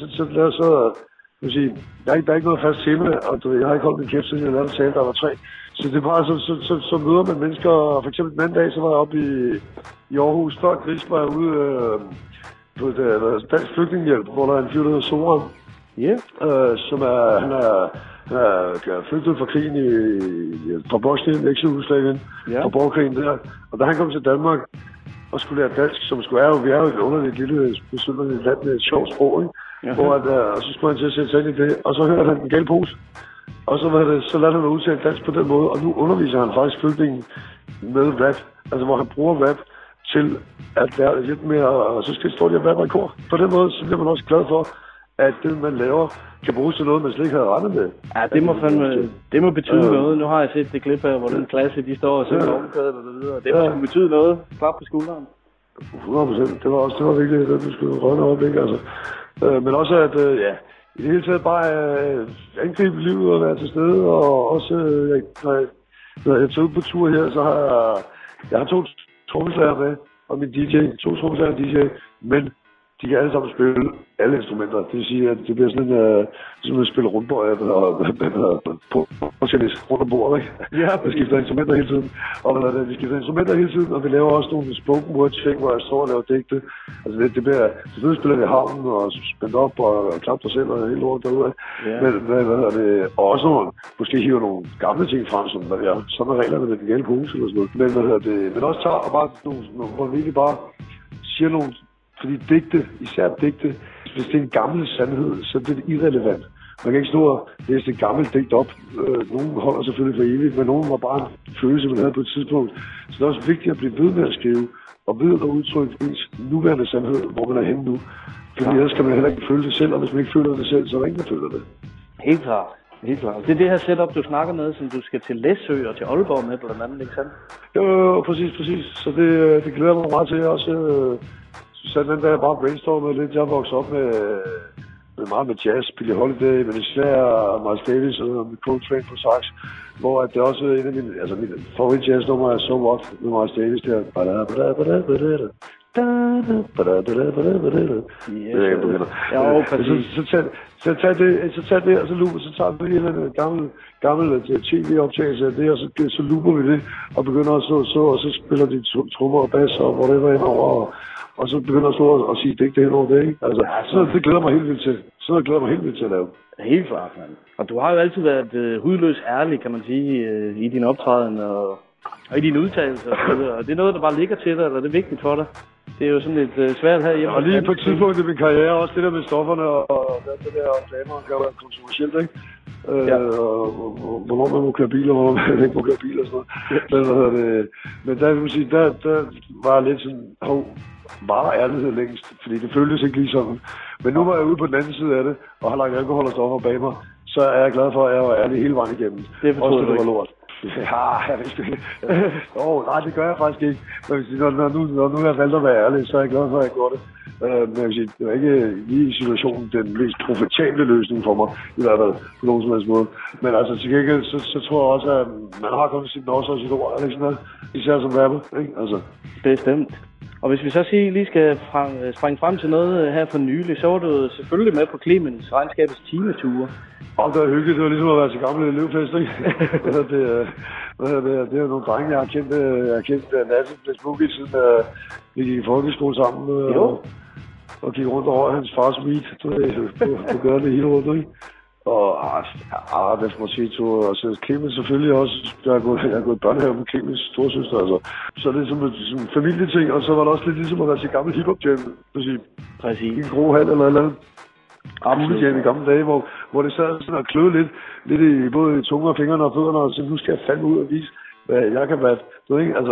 jeg har ikke noget fast tema, og jeg har ikke holdt min kæft, siden jeg lavede en tale, der var 3. Så det er bare, så møder man mennesker, og for eksempel den anden dag, så var jeg oppe i Aarhus, før Gris var jeg ude på Dansk Flygtningehjælp, hvor der er en fyr, der hedder Soran. Som han er flygtet fra krigen fra Bosnien, Eksjugoslavien, fra borgerkrigen der. Og da han kom til Danmark og skulle lære dansk, som vi er jo et underligt lille besynderligt land med et sjovt sprog, ikke? Og så skulle han til at sætte sig ind i det, og så hørte han den gale pose. Og så lader han udtale dansk på den måde, og nu underviser han faktisk flygtningen med rap. Altså hvor han bruger rap til at lære lidt mere, og så skal stå lige og være i kor. På den måde, så bliver man også glad for, at det, man laver, kan bruges til noget, man slet ikke havde regnet med. Ja, det må betyde noget. Nu har jeg set det klip af, hvor den klasse, de står og synger omkødet og så videre. Det må betyde noget. Klap på skulderen. 100%. Det var virkelig det, du skulle rønne øjeblik, altså. Men også at, i det hele taget bare angribe livet og være til stede, og også, når jeg tager ud på tur her, så har jeg har 2 trommeslager med, og min DJ, 2 trommeslager og DJ, men de kan alle sammen spille alle instrumenter. Det vil sige, at det bliver sådan at spille rundbøj og tennis rundt om bordet, ikke? Ja, vi skifter instrumenter hele tiden. Og vi skifter instrumenter hele tiden, og vi laver også nogle spoken word ting, hvor jeg står og laver digte. Altså det bliver, selvfølgelig spiller vi havnen og spændt op og klapper dig selv og hele lort derude. Yeah. Men og også nogle, måske hiver nogle gamle ting frem, som sådan er reglerne med den gale pose eller sådan noget. Men også tager og bare nogle, hvor vi virkelig bare siger nogle. Fordi digte, især digte, hvis det er en gammel sandhed, så er det irrelevant. Man kan ikke stå og læse et gammelt digt op. Nogen holder selvfølgelig for evigt, men nogen var bare en følelse, man havde på et tidspunkt. Så det er også vigtigt at blive ved med at skrive, og ved at udtrykke ens nuværende sandhed, hvor man er henne nu. Fordi ellers kan man heller ikke føle det selv, og hvis man ikke føler det selv, så er der ingen, der føler det. Helt klart. Helt klart. Det er det her setup, du snakker med, som du skal til Læsø og til Aalborg med, blandt andet, ikke sandt? Jo, præcis. Så det glæder mig meget til også. Så den der bare brainstormede lidt. Jeg voksede op med meget med jazz, Billie Holiday, men især Miles Davis og med Coltrane på sax, hvor det er også en af mine favorit jazznummer er So What med Miles Davis der. Så tag det, og så looper, så tager vi en gammel tv-optagelse af det, og så looper vi det, og begynder at så, og så spiller de trommer og bass og whatever indover, og så begynder at stå og sige digte hen over det, ikke? Altså, så det glæder mig helt vildt til. Så det glæder mig helt vildt til at lave. Helt klart, mand. Og du har jo altid været hudløs ærlig, kan man sige, i din optræden og i dine udtalelser og så videre. Og det er noget, der bare ligger til dig, eller det er vigtigt for dig. Det er jo sådan lidt svært her hjemme. Og lige på et tidspunkt i min karriere, også det der med stofferne og det der reklamer, kan være kontroversielt, ikke? Og hvornår man må køre biler, og hvornår man ikke må køre biler og sådan noget. Men der vil man sige, der var jeg lidt sådan, bare ærlighed længst, fordi det føltes ikke lige sådan. Men nu var jeg ude på den anden side af det, og har lagt alkohol og stoffer bag mig, så er jeg glad for, at jeg var ærlig hele vejen igennem. Det forstår du ikke. Lort. Ja, jeg vidste ikke. Nej, det gør jeg faktisk ikke. Men når nu jeg valgt at være ærlig, så er jeg glad for, at jeg gjorde det. Men jeg vil sige, det var ikke lige i situationen den mest profitable løsning for mig, i hvert fald på nogen som helst måde. Men altså til gengæld, så tror jeg også, at man har kommet sit også og sit ord, eller sådan noget. Især som rapper, ikke? Altså. Bestemt. Og hvis vi så lige skal springe frem til noget her for nylig, så var du selvfølgelig med på Clemens Regnskabets timeture. Det var hyggeligt. Det var ligesom at være til gamle elevfest, ikke? Det er jo nogle drenge, jeg har kendt Lasse Blæsbukki, siden vi gik i folkeskole sammen. Og gik rundt over hans fars weed. Du gør det hele rundt, ikke? Og hvad skal man sige, og så Clemens selvfølgelig også. Jeg har gået i børnehave med Clemens storsøster, altså. Så det er som en familieting, og så var det også lidt ligesom at være til gammel hiphop-jam. Præcis. I en grå hal eller noget. Absolut i gamle dage, hvor det sad sådan og kløede lidt i både tunge og fingrene og fødderne, og så nu skal jeg fandme ud og vise, hvad jeg kan være. Du ved ikke, altså,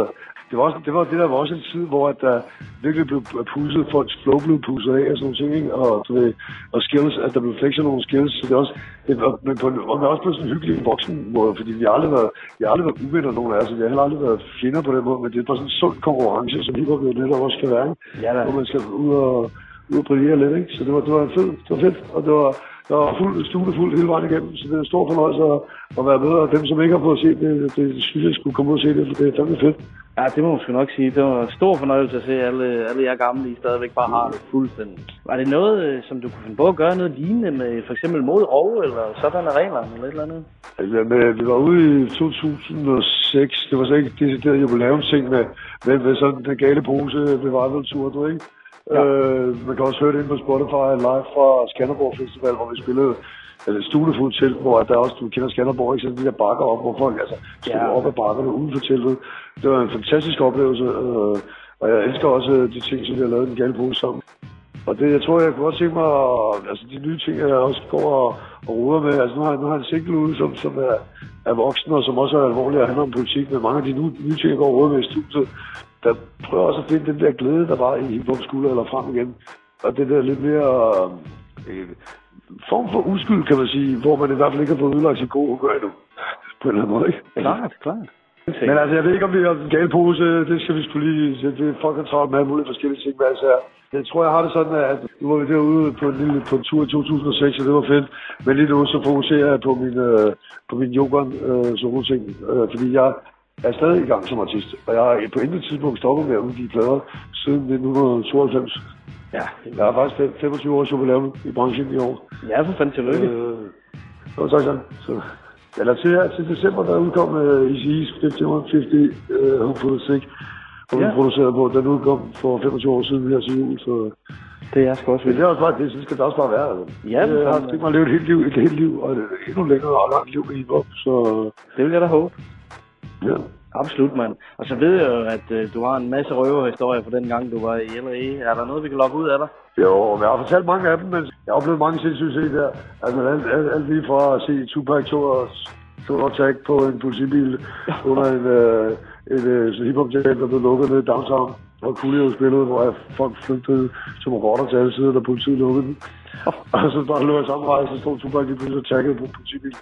det var det der var også en tid, hvor at der virkelig blev pusset, folks flow blev pusset af og sådan nogle ting, ikke? Og skills, at der blev flexet nogle skills, så det er også, men også på sådan en hyggelig voksen måde, fordi vi har aldrig været uvenner nogen af os, vi har heller aldrig været fjender på den måde, men det er bare sådan en sund konkurrence, som hiphop jo det der også skal være, hvor man skal ud og brillere lidt, ikke? Så det var fedt, og det var fuld hele vejen igennem, så det er en stor fornøjelse at være med, og dem, som ikke har fået set det synes jeg skulle komme ud og se det, for det er fandme fedt. Ja, det må man sgu nok sige. Det var en stor fornøjelse at se alle jer gamle, I stadigvæk bare har det fuldstændig. Var det noget, som du kunne finde på at gøre noget lignende med for eksempel mod Rove, eller sådan af reglerne, eller et eller andet? Altså, vi var ude i 2006, det var så ikke decideret jubilæumsting med sådan den gale pose revival-tur, du ikke? Ja. Man kan også høre det inde på Spotify live fra Skanderborg Festival, hvor vi spillede Stunefuld telt, hvor der også, du kender Skanderborg, ikke? Så de der bakker op, hvor folk stod op ad bakkerne uden for teltet. Det var en fantastisk oplevelse, og jeg elsker også de ting, som vi har lavet den gale pose sammen. Og det, jeg tror, jeg kunne godt tænke mig, altså de nye ting, jeg også går og ruder med, altså nu har jeg en single ude, som er voksen, og som også er alvorlig og handler om politik, men mange af de nye ting, jeg går og ruder med i studiet, der prøver også at finde den der glæde, der var i hiphop skulder eller frem igen. Og det der lidt mere form for uskyld, kan man sige, hvor man i hvert fald ikke har fået udlagt sin gode gør endnu. På en eller anden måde, ikke? Klart. Men altså, jeg ved ikke, om vi har en gal pose. Det skal vi sgu lige... Det folk har travlt med alle mulige forskellige ting, hvad altså. Jeg tror, jeg har det sådan, at nu var vi derude på en tur i 2006, og det var fedt. Men lige nu, så fokuserer jeg på min yoghurt, ting. Fordi jeg er stadig i gang som artist. Og jeg har på intet tidspunkt stoppet med at udgive plader siden 1992. Ja. Jeg har faktisk 25 års jubilæum i branchen i år. Ja, for fanden tillykke. Tak. Så. Eller til december, der udkom Eazy-E's 50 Hopeful Sick, hvor vi producerede på. Den udkom for 25 år siden her til jul, så... Det er sgu også vildt. Det er også bare, det skal det også bare være. Altså. Ja, jeg har tænkt mig at leve et helt liv, og et endnu længere og langt liv med hiphop, så... Det vil jeg da håbe. Ja. Absolut, mand. Og så ved jeg jo, at du har en masse røverhistorier fra den gang, du var i LA. Er der noget, vi kan logge ud af dig? Jo, jeg har fortalt mange af dem, men jeg har oplevet mange sindssyge ting der. Altså alt lige fra at se Tupac to attack på en politibil under et hiphop-jam, der blev lukket ned i downtown. Og Coolio spillede, hvor folk flygtede som rotter til alle sider, da politiet lukkede den. Og så bare løb jeg samme rejse, så stod Tupac lige pludselig og taggede på en politibil.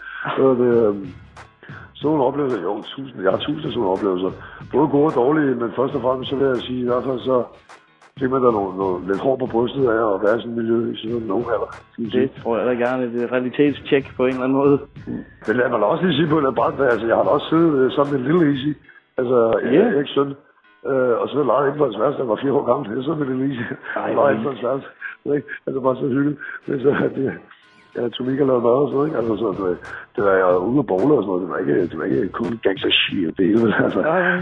Sådan nogle oplevelser, jeg har tusind af sådan nogle oplevelser. Både gode og dårlige, men først og fremmest så vil jeg sige, i hvert fald så fik man der noget lidt hår på brystet af at være i sådan et miljø i sådan nogen alder. Det tror jeg da gerne, et realitetstjek på en eller anden måde. Men lad mig da også lige sige på en brand, altså jeg har da også siddet sammen med en lille Easy, altså Eriks søn, og så legede ikke på hans værelse, han var 4 år gammel, det er sådan med en lille Easy. Han legede ikke på hans værelse, altså bare så hyggeligt. Men så jeg tog Mika lavede mad og sådan noget, ikke? Altså, det var jeg ude af bowler og sådan noget. Det var ikke kun gangster shit, det hele. Altså,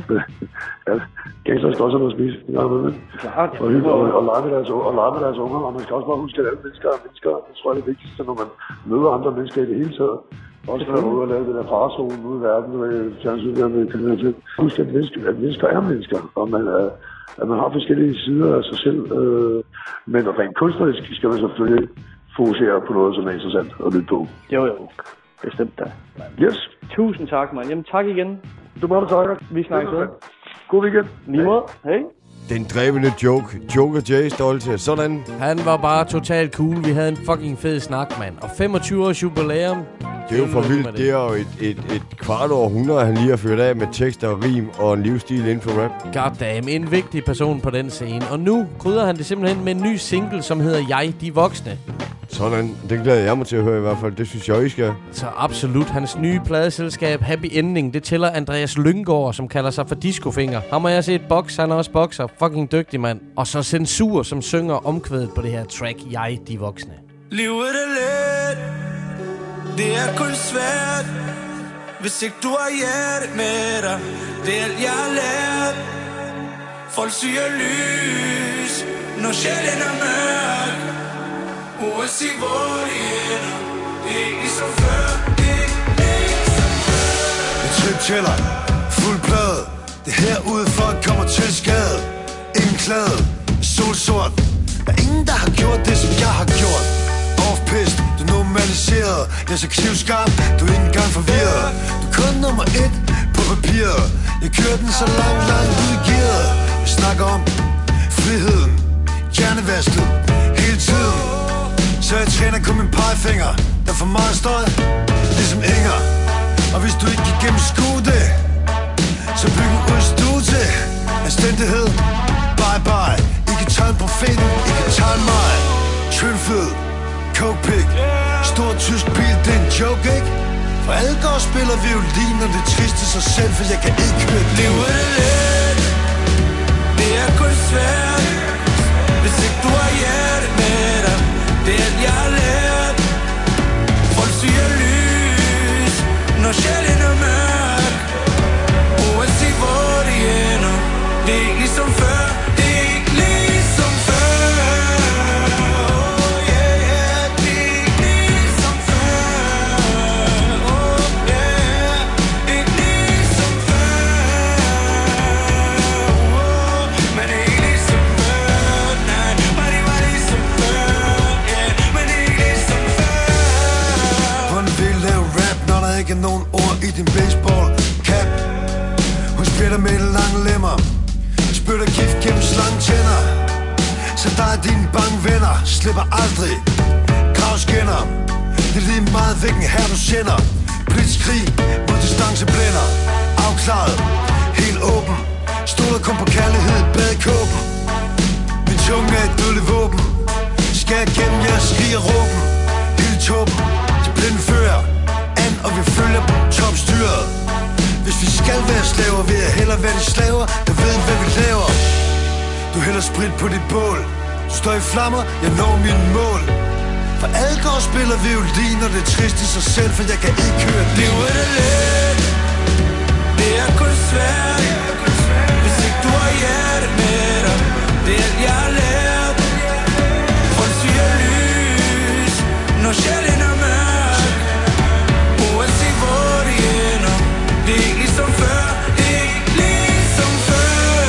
gangster skal også have noget at spise. Klart. Og lege med deres unger. Og man skal også bare huske, at alle mennesker, det tror jeg er det vigtigste, når man møder andre mennesker i det hele taget. Også når man er ude og lave det der farzone ude i verden, og fjernsyn der med kriminalitet. Husk, at mennesker er mennesker, og at man har forskellige sider af sig selv. Men rent kunstnerisk skal man selvfølgelig fokusere på noget, som er interessant at lytte på. Jo. Bestemt da. Yes. Tusind tak, mand. Jamen tak igen. Du må takke. Vi snakkes ved. God weekend. Lige måde. Hej. Den drevne Joker J stolte. Sådan. Han var bare totalt cool. Vi havde en fucking fed snak, mand. Og 25 års jubilæum. Det er jo for vildt. Det er jo et kvart århundrede, han lige har ført af med tekster og rim og en livsstil inden for rap. Goddamn, en vigtig person på den scene. Og nu krydder han det simpelthen med en ny single, som hedder Jeg, de voksne. Sådan, den glæder jeg mig til at høre i hvert fald. Det synes jeg, I skal. Så absolut. Hans nye pladeselskab Happy Ending, det tæller Andreas Lynggaard, som kalder sig for Discofinger. Ham har jeg set boks, han er også bokser. Fucking dygtig mand. Og så Censur, som synger omkvædet på det her track Jeg, de voksne. Livet er let, det er kun svært, hvis ikke du har hjerte med dig. Det er alt jeg har lært. Folk siger lys, når sjælen er mørk. Uanset hvor det ender, det er ikke som før, det er ikke som før. Jeg trip-tæller, fuld plade. Det her udefra kommer til skade. Ingen klæde, solsort. Der er ingen, der har gjort det, som jeg har gjort. Off-pist, du er normaliseret. Jeg er så knivskarp, du er ikke engang forvirret. Du er kun nummer 1 på papiret. Jeg kører den så langt ud i gear. privilegeret. Vi snakker om friheden, hjernevasket hele tiden. Så jeg træner kun min pegefinger. Der er for meget støj, ligesom Inger. Og hvis du ikke kan gennemskue det, så byg en udstue til anstændighed. Bye bye. I kan tegne profeten, I kan tegne mig. Tyndfed, coke-pig, stor tysk bil, det er en joke, ikke? For alle går og spiller violin, og det er trist i sig selv, for jeg kan ikke høre det. Livet er let, det er kun svært, hvis ikke du har hjerte med dig. Det er alt jeg har lært. Folk siger lys, når sjælen er mørk. Uanset hvor det ender, det er ikke ligesom før. Det er ikke ligesom før. Ikke nogen ord i din baseball cap. Hun spiller med lange lemmer, spytter gift gennem slange tænder. Så der er dine bange venner, slipper aldrig gravskinner. Det er lige meget hvilken her du sender. Blitzkrig mod distance blænder. Afklaret, helt åben. Stoler kun på kærlighed, badekåben. Min tunge er et dødeligt våben. Skal jeg gennem jeres skrig og råben. Hele toppen, de blinde fører og vi følger topstyret. Hvis vi skal være slaver, vil jeg hellere være de slaver, der ved, hvad vi laver. Du hælder sprit på dit bål. Du står i flammer, jeg når mine mål. For alle går og spiller violin, og det er trist i sig selv, for jeg kan ikke høre det. Livet er let, det er kun svært, hvis ikke du har hjerte med dig. Det er alt jeg har lært. Folk siger lys, når sjælen er mørk. Det er ikke ligesom før, det er ikke ligesom før.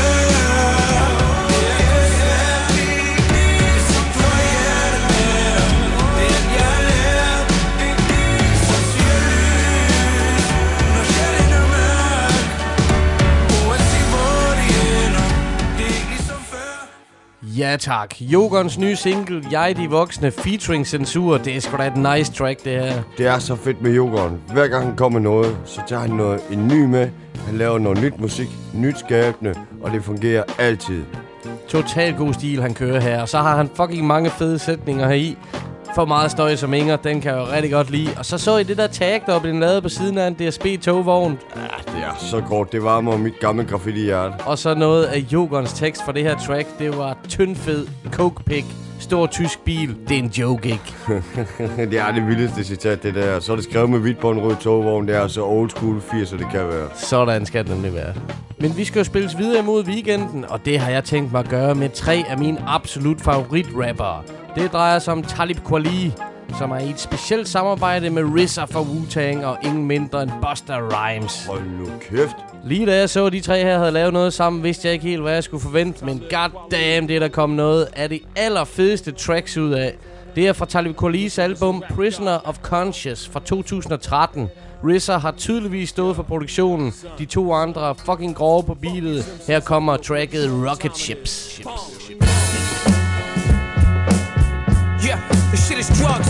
Det er ikke ligesom før, hjertet med dig. Det er alt jeg har lært. Så siger lys, når sjælen er mørk. Uanset hvor det ender, det er ikke ligesom før. Ja tak. Jokers nye single, Jeg de voksne, featuring Censur. Det er sgu da et nice track, det her. Det er så fedt med Jokeren. Hver gang han kommer noget, så tager han en ny med. Han laver noget nyt musik, nyt skabende, og det fungerer altid. Total god stil, han kører her. Og så har han fucking mange fede sætninger heri. For meget støj som Inger, den kan jeg jo rigtig godt lide. Og så I det der tag, der blev lavet på siden af en DSB-togvogn. Ja, det er så godt. Det varmer mit gamle graffiti-hjerte. Og så noget af Jokerens tekst for det her track, det var tyndfed, coke-pig, stor tysk bil. Det er en joke, ikke? Det er det vildeste citat, det der. Så er det skrevet med hvidt på en rød togvogn. Det er så old school 80'er, det kan være. Sådan skal det nemlig være. Men vi skal jo spilles videre imod weekenden, og det har jeg tænkt mig at gøre med 3 af mine absolut favoritrappere. Det drejer sig om Talib Kweli, som er i et specielt samarbejde med RZA fra Wu-Tang og ingen mindre end Busta Rhymes. Hold nu kæft. Lige da jeg så, at de 3 her havde lavet noget sammen, vidste jeg ikke helt, hvad jeg skulle forvente. Men goddamn, det er der kommet noget af de allerfedeste tracks ud af. Det er fra Talib Kwelis album Prisoner of Conscience fra 2013. RZA har tydeligvis stået for produktionen. De 2 andre er fucking grove på beatet. Her kommer tracket Rocket Ships. Yeah, this shit is drugs.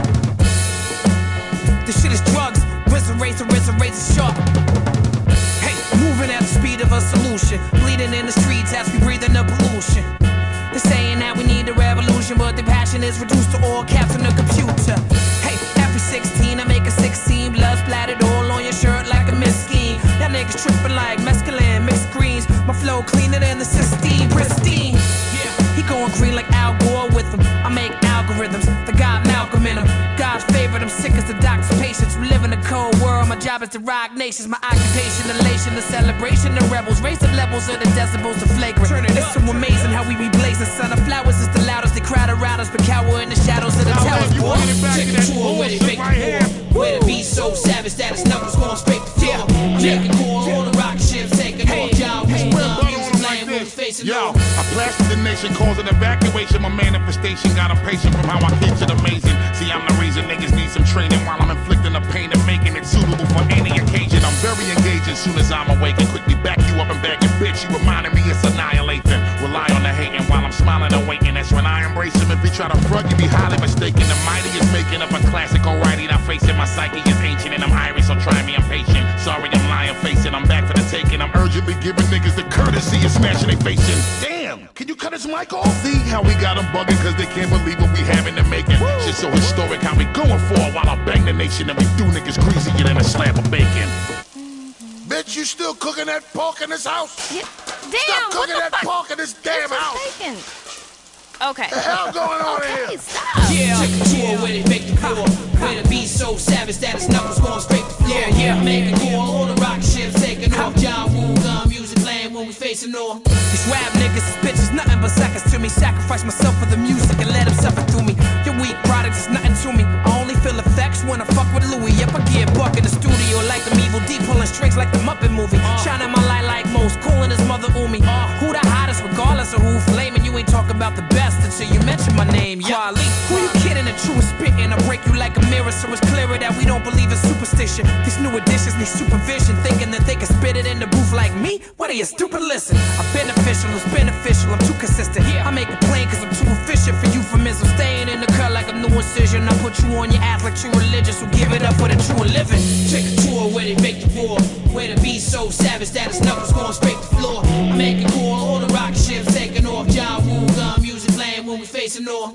This shit is drugs. Razor sharp. Hey, moving at the speed of a solution. Bleeding in the streets as we breathe in the pollution. They're saying that we need a revolution, but the passion is reduced to all caps on the computer. Hey, every 16 I make a 16. Blood splattered all on your shirt like a miss scheme. Y'all niggas tripping like mescaline, mixed greens. My flow cleaner than the Sistine, pristine. He going green like Al Gore with him. I make algorithms, the God Malcolm in them. God's favorite, I'm sick as the doctor's patients. We live in a cold world, my job is to rock nations. My occupation, elation, the celebration, the rebels. Raise the levels of the decibels to flagrant. It's so amazing how we be blazing. Sun of flowers is the loudest, they crowd around us, but cower in the shadows of the towers. Boy, check the tour where they fake the war. Where the beat so savage that its numbers going straight to floor. Making core, all the rocket ships taking off. Y'all, yo, I blasted the nation, causing evacuation. My manifestation got impatient from how I keep it amazing. See, I'm the reason niggas need some training while I'm inflicting the pain and making it suitable for any occasion. I'm very engaging soon as I'm awake and quickly back you up and back your bitch. You reminded me just annihilate them. Rely on the hating while I'm smiling and waiting. That's when I embrace him. If he try to front, you be highly mistaken. The mighty is making up a classic, alrighty. Now facing my psyche is ancient and I'm Irish, so try me, I'm patient. Sorry, I'm lying, facing. I'm back for the taking. I'm urgently giving niggas the courtesy of smashing they facing. Damn, can you cut his mic off? See how we got them bugging cause they can't believe what we have in the making. Shit so historic how we going for it while I bang the nation and we do niggas greasier than a slab of bacon. Bitch, you still cooking that pork in this house? Yeah. Damn, stop cooking that pork in this damn house. Bacon. Okay. The hell going on okay, here? Stop. Yeah, took a tour where they make the floor. Where the beat so savage that his knuckles going straight to floor. Yeah, make a call, all the rocket ships taking off. John Woo gun music playing when we facing off. These rap niggas is bitches, nothing but suckers to me. Sacrifice myself for the music and let them suffer through me. Your weak products is nothing to me. I only feel effects when I fuck with Louis. Yep, I get buck in the studio like I'm Evil D, pulling strings like the Muppet movie. Shining my light like most, calling his mother Umi. Who the hottest, regardless of who flaming? You ain't talking about the best until you mention my name. Yali, who you kidding? The truest spitting. I break you like a mirror, so it's clearer that we don't believe in superstition. These new additions need supervision, thinking that they can spit it in the booth like me. What are you stupid? Listen, I'm beneficial, it's beneficial. I'm too consistent. I make it plain cause I'm too efficient for euphemism. Staying in the cut like a new incision. I put you on your ass like true religious. So give it up for the true living. Take a tour where they make the war. Where the beat so savage that his knuckles going straight to the floor. I make it cool, all the rocket ships taking off. John Woo gun music playing when we facing off.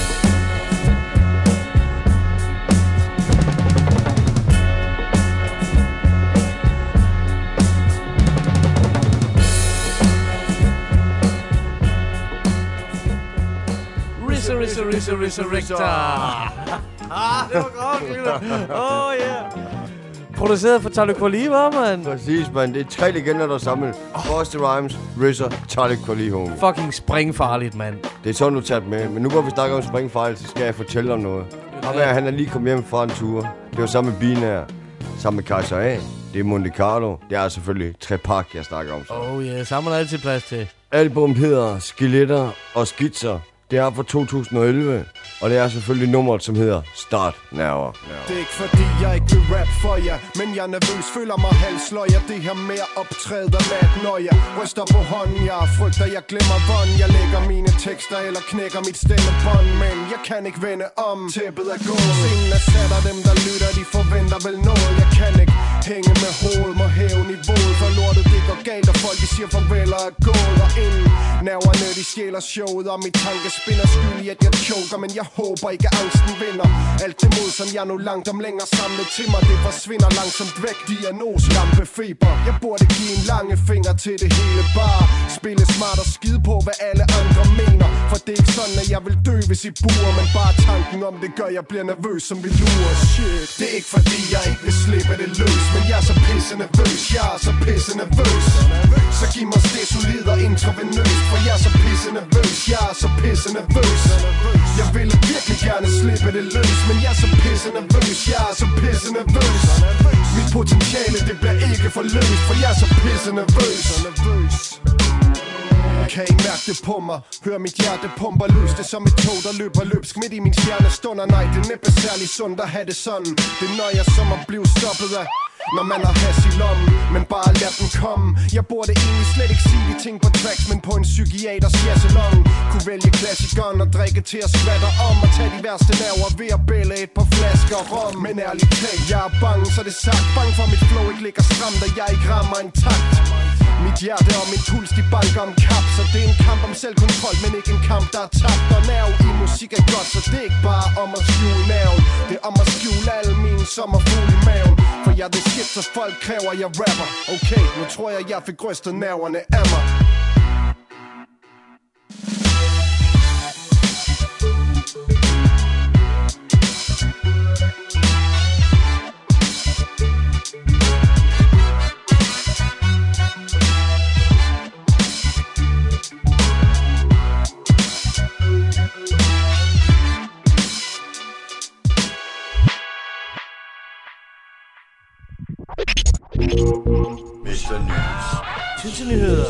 Resurrector. Det var godt. Yeah. Produceret for Talib Kweli, mand. Præcis, mand. Det er 3 legender, der er samlet. Busta Rhymes, RZA, Talib Kweli, homie. Fucking springfarligt, mand. Det er sådan, du tager med. Men nu hvor vi snakker om springfarligt, så skal jeg fortælle om noget. Han er lige kommet hjem fra en tur. Det var sammen med Binær, sammen med Kaiser A. Det er Monte Carlo. Det er selvfølgelig Trepak, jeg snakker om. Så. Oh yeah, så har man altid plads til. Album hedder Skeletter og Skitser. Det er fra 2011, og det er selvfølgelig nummeret, som hedder Start Now. Det er ikke fordi, jeg ikke vil rap for jer, men jeg er nervøs, føler mig halsløjer. Det her med at optræde mat, når jeg ryster på hånden. Jeg frygter, jeg glemmer bånd. Jeg lægger mine tekster eller knækker mit stemmebånd, men jeg kan ikke vende om. Tæppet er gået. Scenen er sat, og dem der lytter, de forventer vel noget. Jeg kan ikke hænge med hoved, må hæve niveauet. For lortet det går galt, og folk de siger farvel og er gået. Og inden nerverne de stjæler showet, og mit tankespin er skyldig, at jeg choker. Men jeg håber ikke, at angsten vinder. Alt det mod, som jeg nu langt om længere samlet til mig, det forsvinder langsomt væk. Diagnose, lampefeber. Jeg burde give en lange finger til det hele. Bare spille smart og skide på, hvad alle andre mener. For det er ikke sådan, at jeg vil dø, hvis I buer. Men bare tanken om det gør, jeg bliver nervøs, som vi lurer. Shit, det er ikke fordi, jeg ikke vil slippe det løs. Men jeg er så pisse nervøs, jeg er så pisse nervøs. Så giv mig det solid og intravenøst. For jeg er så pisse nervøs, jeg er så pisse nervøs. Jeg ville virkelig gerne slippe det løs. Men jeg er så pisse nervøs, jeg er så pisse nervøs. Mit potentiale, det bliver ikke forløst. For jeg er så pisse nervøs. Kan I mærke det på mig? Hør mit hjerte pumper løs. Det er som et tog, der løber løbsk midt i min stjernestunder. Nej, det er næppe særlig sundt at have det sådan. Det nøjer som at blive stoppet af når man har has i lommen, men bare lad den komme. Jeg burde egentlig slet ikke sige de ting på tracks, men på en psykiaters jazzelong. Kunne vælge klassikeren og drikke til at skvatte om. Og tage de værste nerver ved at bælle et par flasker rom. Men ærligt talt, jeg er bange, så det er sagt. Bange for mit flow ikke ligger stramt, og jeg ikke rammer en takt. Mit hjerte og min puls, de banker om kap. Så det er en kamp om selvkontrol, men ikke en kamp, der er tabt. Og nerve i musik er godt, så det er ikke bare om at skjule nerven. Det er om at skjule alle mine sommerfugle i maven. For jeg er det shit, så folk kræver, jeg rapper. Okay, nu tror jeg fik rystet nerverne af mig. Mr. News. Nyheder.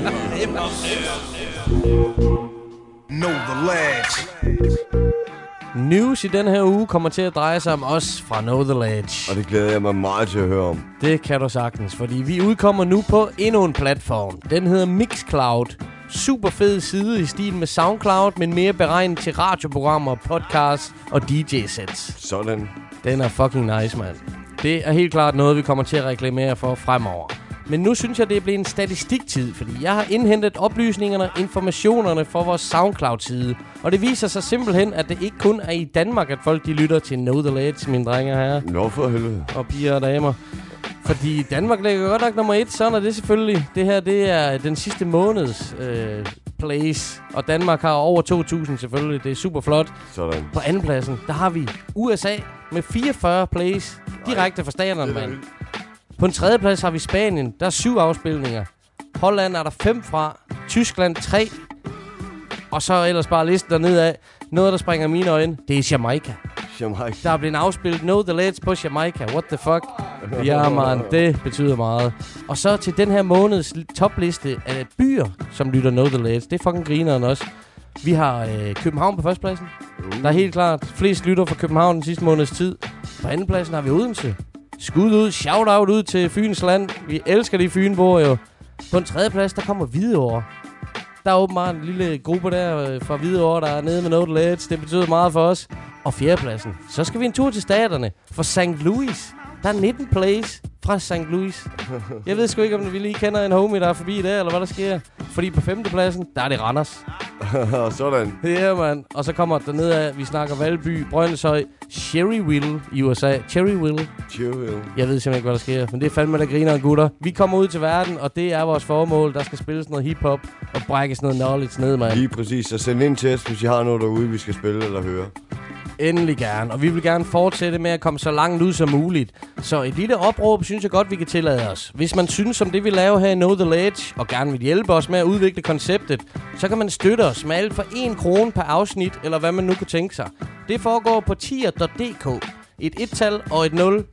Know the lads. News i den her uge kommer til at dreje sig om os fra Know The Ledge. Og det glæder jeg mig meget til at høre om. Det kan du sagtens, fordi vi udkommer nu på endnu en platform. Den hedder Mixcloud. Super fed side i stil med SoundCloud, men mere beregnet til radioprogrammer, podcasts og DJ-sets. Sådan. Den er fucking nice, mand. Det er helt klart noget, vi kommer til at reklamere for fremover. Men nu synes jeg, det er blevet en statistiktid, fordi jeg har indhentet oplysningerne, informationerne fra vores SoundCloud-side. Og det viser sig simpelthen, at det ikke kun er i Danmark, at folk de lytter til Know The Ledge, mine drenge her. Nå for helvede. Og piger og damer. Fordi Danmark ligger godt nok nummer 1, sådan er det selvfølgelig. Det her, det er den sidste måneds plays. Og Danmark har over 2.000 selvfølgelig. Det er super flot. Sådan. På andenpladsen, der har vi USA med 44 plays. Direkte fra staterne, mand. På en tredjeplads har vi Spanien. Der er 7 afspilninger. Holland er der 5 fra. Tyskland 3. Og så ellers bare listen dernede af. Noget, der springer mine øjne, det er Jamaica. Jamaica. Der er blevet afspillet Know The Ledge på Jamaica. What the fuck? Ja, man, det betyder meget. Og så til den her måneds topliste af byer, som lytter Know The Ledge. Det er fucking grineren også. Vi har København på førstepladsen. Der er helt klart flest lytter fra København den sidste måneds tid. På andenpladsen har vi Odense. Skud ud, shout out ud til Fyns land. Vi elsker de Fynboer jo. På en tredjeplads, der kommer Hvidovre. Der er åbenbart en lille gruppe der fra Hvidovre, der er nede med Know The Ledge. Det betyder meget for os. Og fjerdepladsen, så skal vi en tur til staterne. For St. Louis, der er 19 plays fra St. Louis. Jeg ved sgu ikke, om vi lige kender en homie, der er forbi der, eller hvad der sker. Fordi på femtepladsen, der er det Randers. Sådan. Ja, mand. Og så kommer der ned af, vi snakker Valby, Brøndshøj, Cherryville i USA. Cherryville. Jeg ved simpelthen ikke, hvad der sker, men det er fandme, der griner gutter. Vi kommer ud til verden, og det er vores formål. Der skal spilles noget hiphop og brækkes noget knowledge ned, mand. Lige præcis. Så send ind til os, hvis I har noget derude, vi skal spille eller høre. Endelig gerne, og vi vil gerne fortsætte med at komme så langt ud som muligt. Så et lille opråb synes jeg godt, vi kan tillade os. Hvis man synes om det, vi laver her i Know The Ledge, og gerne vil hjælpe os med at udvikle konceptet, så kan man støtte os med alt for 1 krone per afsnit, eller hvad man nu kunne tænke sig. Det foregår på tier.dk. Et 1-tal og et 0,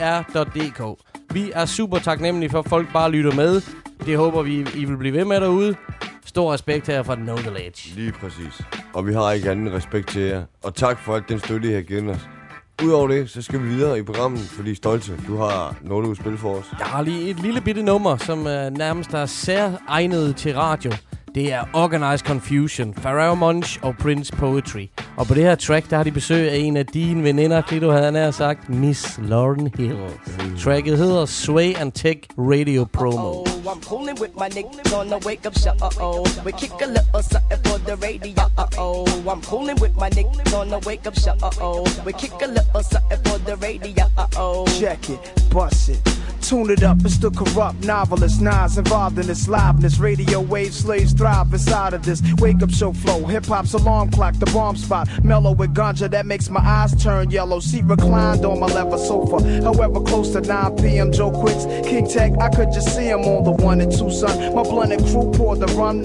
er.dk. Vi er super taknemmelige for, at folk bare lytter med. Det håber vi, I vil blive ved med derude. Stor respekt her fra Know The Ledge. Lige præcis. Og vi har ikke anden respekt til jer. Og tak for alt den støtte, I har givet os. Udover det, så skal vi videre i programmet, fordi Stolte, du har noget, du vil spille for os. Jeg har lige et lille bitte nummer, som nærmest er særegnet til radio. Det er Organized Confusion, Pharrell Monch og Prince Poetry. Og på det her track, der har de besøg af en af dine veninder, Klito havde nær sagt, Miss Lauryn Hill. Tracket hedder Sway and Tech Radio Promo. I'm cooling with my niggas on the wake up show. We kick a little something for the radio. I'm cooling with my niggas on the wake up show. We kick a little something for the radio. Check it, bust it. Tune it up, it's the corrupt novelist. Nas involved in this liveness. Radio wave slaves thrive inside of this wake up show flow. Hip hop's alarm clock, the bomb spot. Mellow with ganja that makes my eyes turn yellow. Seat reclined on my leather sofa. However, close to 9 p.m. Joe Quicks, King Tech, I could just see him on the 1 and 2, son. My blended crew poured the rum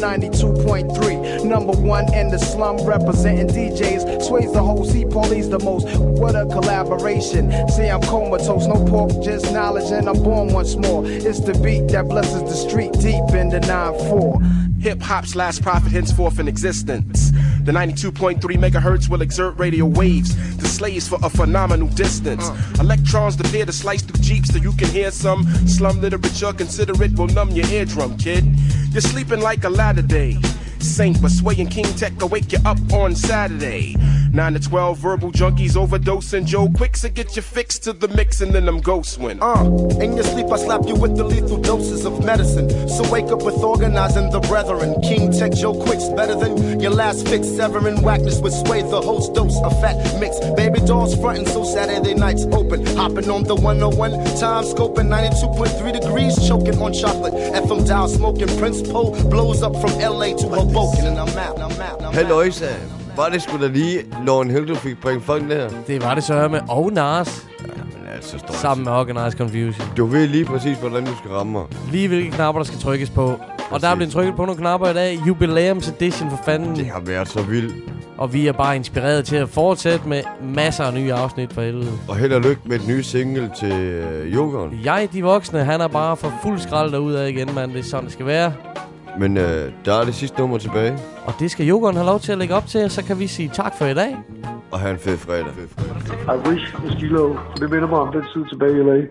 92.3. Number 1 in the slum, representing DJs. Sways the whole sea, police the most. What a collaboration. See, I'm comatose, no pork, just knowledge, and I'm born once more. It's the beat that blesses the street deep in the 9-4. Hip-hop's last prophet henceforth in existence. The 92.3 megahertz will exert radio waves to slaves for a phenomenal distance. Electrons appear to slice through jeeps so you can hear some slum literature. Consider it will numb your eardrum, kid. You're sleeping like a Latter-day Saint, but Sway and King Tech will wake you up on Saturday. 9 to 12 verbal junkies overdosing Joe Quicks to get you fixed to the mix and then them ghosts win. In your sleep I slap you with the lethal doses of medicine. So wake up with organizing the brethren. King Tech Joe Quicks better than your last fix. Severing whackness with Sway, the host dose of fat mix. Baby dolls frontin' so Saturday nights open. Hopping on the 101 time scoping 92.3 degrees. Choking on chocolate. FM dial smoking. Prince Poe blows up from LA to Hoboken. And I'm out. Halløjsa. Var det sgu da lige Lauryn Hill, du fik bringe folk der? Det var det så med og Nas. Jamen altså, sammen med Organized Confusion. Du ved lige præcis, hvordan du skal ramme mig. Lige hvilke knapper, der skal trykkes på. Præcis. Og der er blevet trykket på nogle knapper i dag. Jubilæums edition for fanden. Det har været så vildt. Og vi er bare inspireret til at fortsætte med masser af nye afsnit for helvede. Og held og lykke med et nye single til Jokeren. De voksne, han er bare for fuld skrald derudad igen, mand. Det er sådan, det skal være. Men der er det sidste nummer tilbage. Og det skal Jokeren have lov til at lægge op til, og så kan vi sige tak for i dag. og have en fed fredag. I wish med Stilo, for det minder mig om den tid tilbage i LA.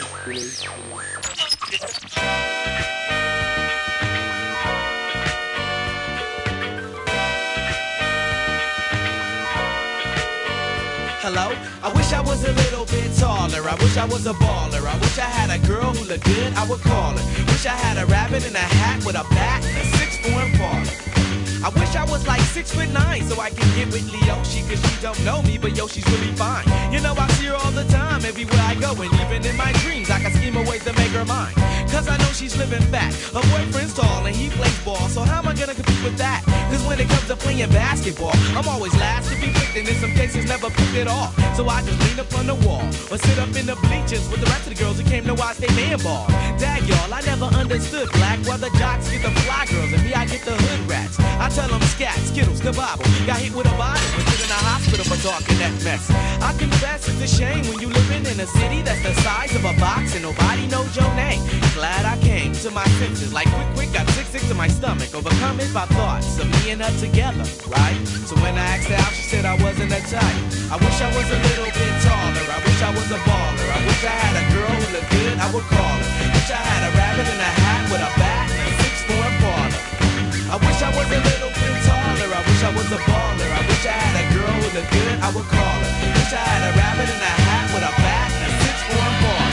Hello? I wish I was a little bit taller. I wish I was a baller. I wish I had a girl who looked good, I would call her. Wish I had a rabbit in a hat with a bat and a 6'4" parlor. I wish I was like 6'9" so I can get with Leoshi, cause she don't know me, but yo, she's really fine. You know, I see her all the time, everywhere I go, and even in my dreams, I can scheme a way to make her mine. Cause I know she's living fat. Her boyfriend's tall and he plays ball, so how am I gonna compete with that? Cause when it comes to playing basketball, I'm always last to be picked, and in some cases never picked at all. So I just lean up on the wall, or sit up in the bleachers with the rest of the girls who came to watch they man ball. Dag y'all, I never understood black, why the jocks get the fly girls, and me I get the hood rats. I tell them scat, skittles, the Bible. Got hit with a bottle and put in a hospital for talking that mess. I confess it's a shame when you living in a city that's the size of a box and nobody knows your name. Glad I came to my senses, like quick, got sick to my stomach, overcome it by thoughts of me and her together, right? So when I asked her out, she said I wasn't a type. I wish I was a little bit taller. I wish I was a baller. I wish I had a girl who looked good, I would call her. Wish I had a rabbit in a hat with a bat and a 6'4" parlor. I wish I was a little bit taller. I wish I was a baller. I wish I had a girl who looked good, I would call her. Wish I had a rabbit in a hat with a bat and a 6'4" parlor.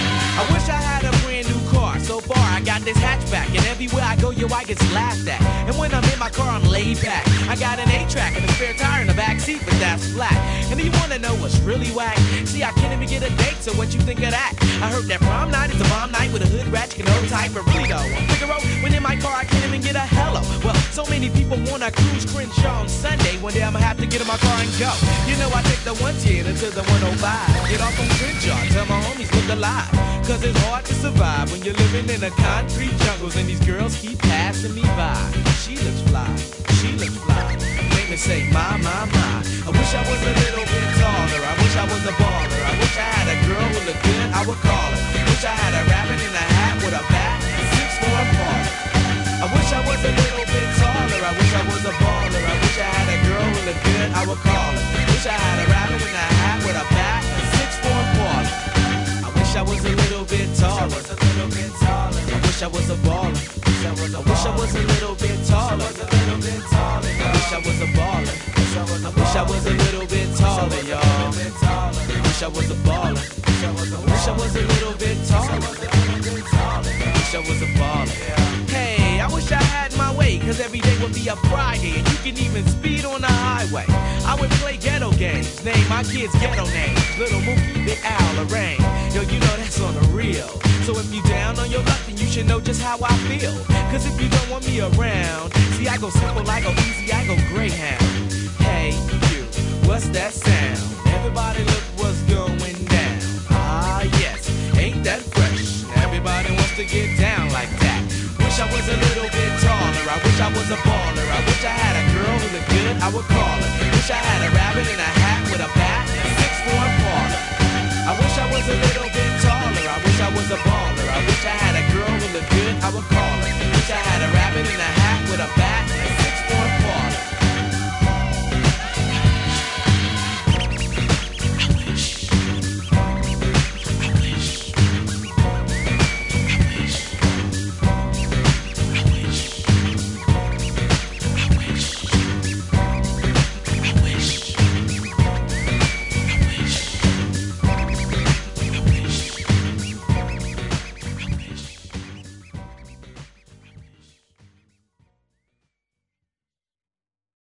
I wish I had a brand new car. So far I got this hatchback, and everywhere I go, yo, I get laughed at. And when I'm in my car, I'm laid back. I got an 8-track and a spare tire in the back seat, but that's flat. And do you wanna know what's really whack? See, I can't even get a date, so what you think of that? I heard that prom night is a bomb night with a hood rat, you can hold tight, but really though, on Figaro, when in my car, I can't even get a hello. Well, so many people wanna cruise Crenshaw on Sunday. One day I'ma have to get in my car and go. You know, I take the 110 to the 105. Get off on Crenshaw, tell my homies look alive. Cause it's hard to survive when you're living in a concrete jungles and these girls keep passing me by. She looks fly, she looks fly. Make me say, my. I wish I was a little bit taller. I wish I was a baller. I wish I had a girl who looked good, I would call her. Wish I had a rabbit in a hat with a bat and 6'4" parlor. I wish I was a little bit taller. I wish I was a baller. I wish I had a girl who looked good, I would call her. Wish I had a rabbit in a hat with a bat and 6'4" parlor. I wish I was a little bit taller. I wish I was a baller. I wish I was a little bit taller. I wish I was a baller. I wish I was a little bit taller, y'all. I wish I was a baller. I wish I was a little bit taller. I wish I was a baller. Hey, I wish I had my way, cause every day would be a Friday, and you can even speed on the highway. I would play ghetto games, name my kids ghetto names. Little Mookie, Big Al, Lorraine. Yo, you know that's on the real. So if you down on your luck, then you should know just how I feel. Cause if you don't want me around, see I go simple, I go easy, I go Greyhound. Hey, you, what's that sound? Everybody look what's going down. Ah, yes, ain't that fresh? Everybody wants to get down like that. Wish I was a little bit taller. I wish I was a baller. I wish I had a girl who looked good, I would call her. Wish I had a rabbit in a hat with a bat and a 6'4" parlor. I wish I was a little bit taller. I wish I was a baller. I wish I had a girl who looked good, I would call her. Wish I had a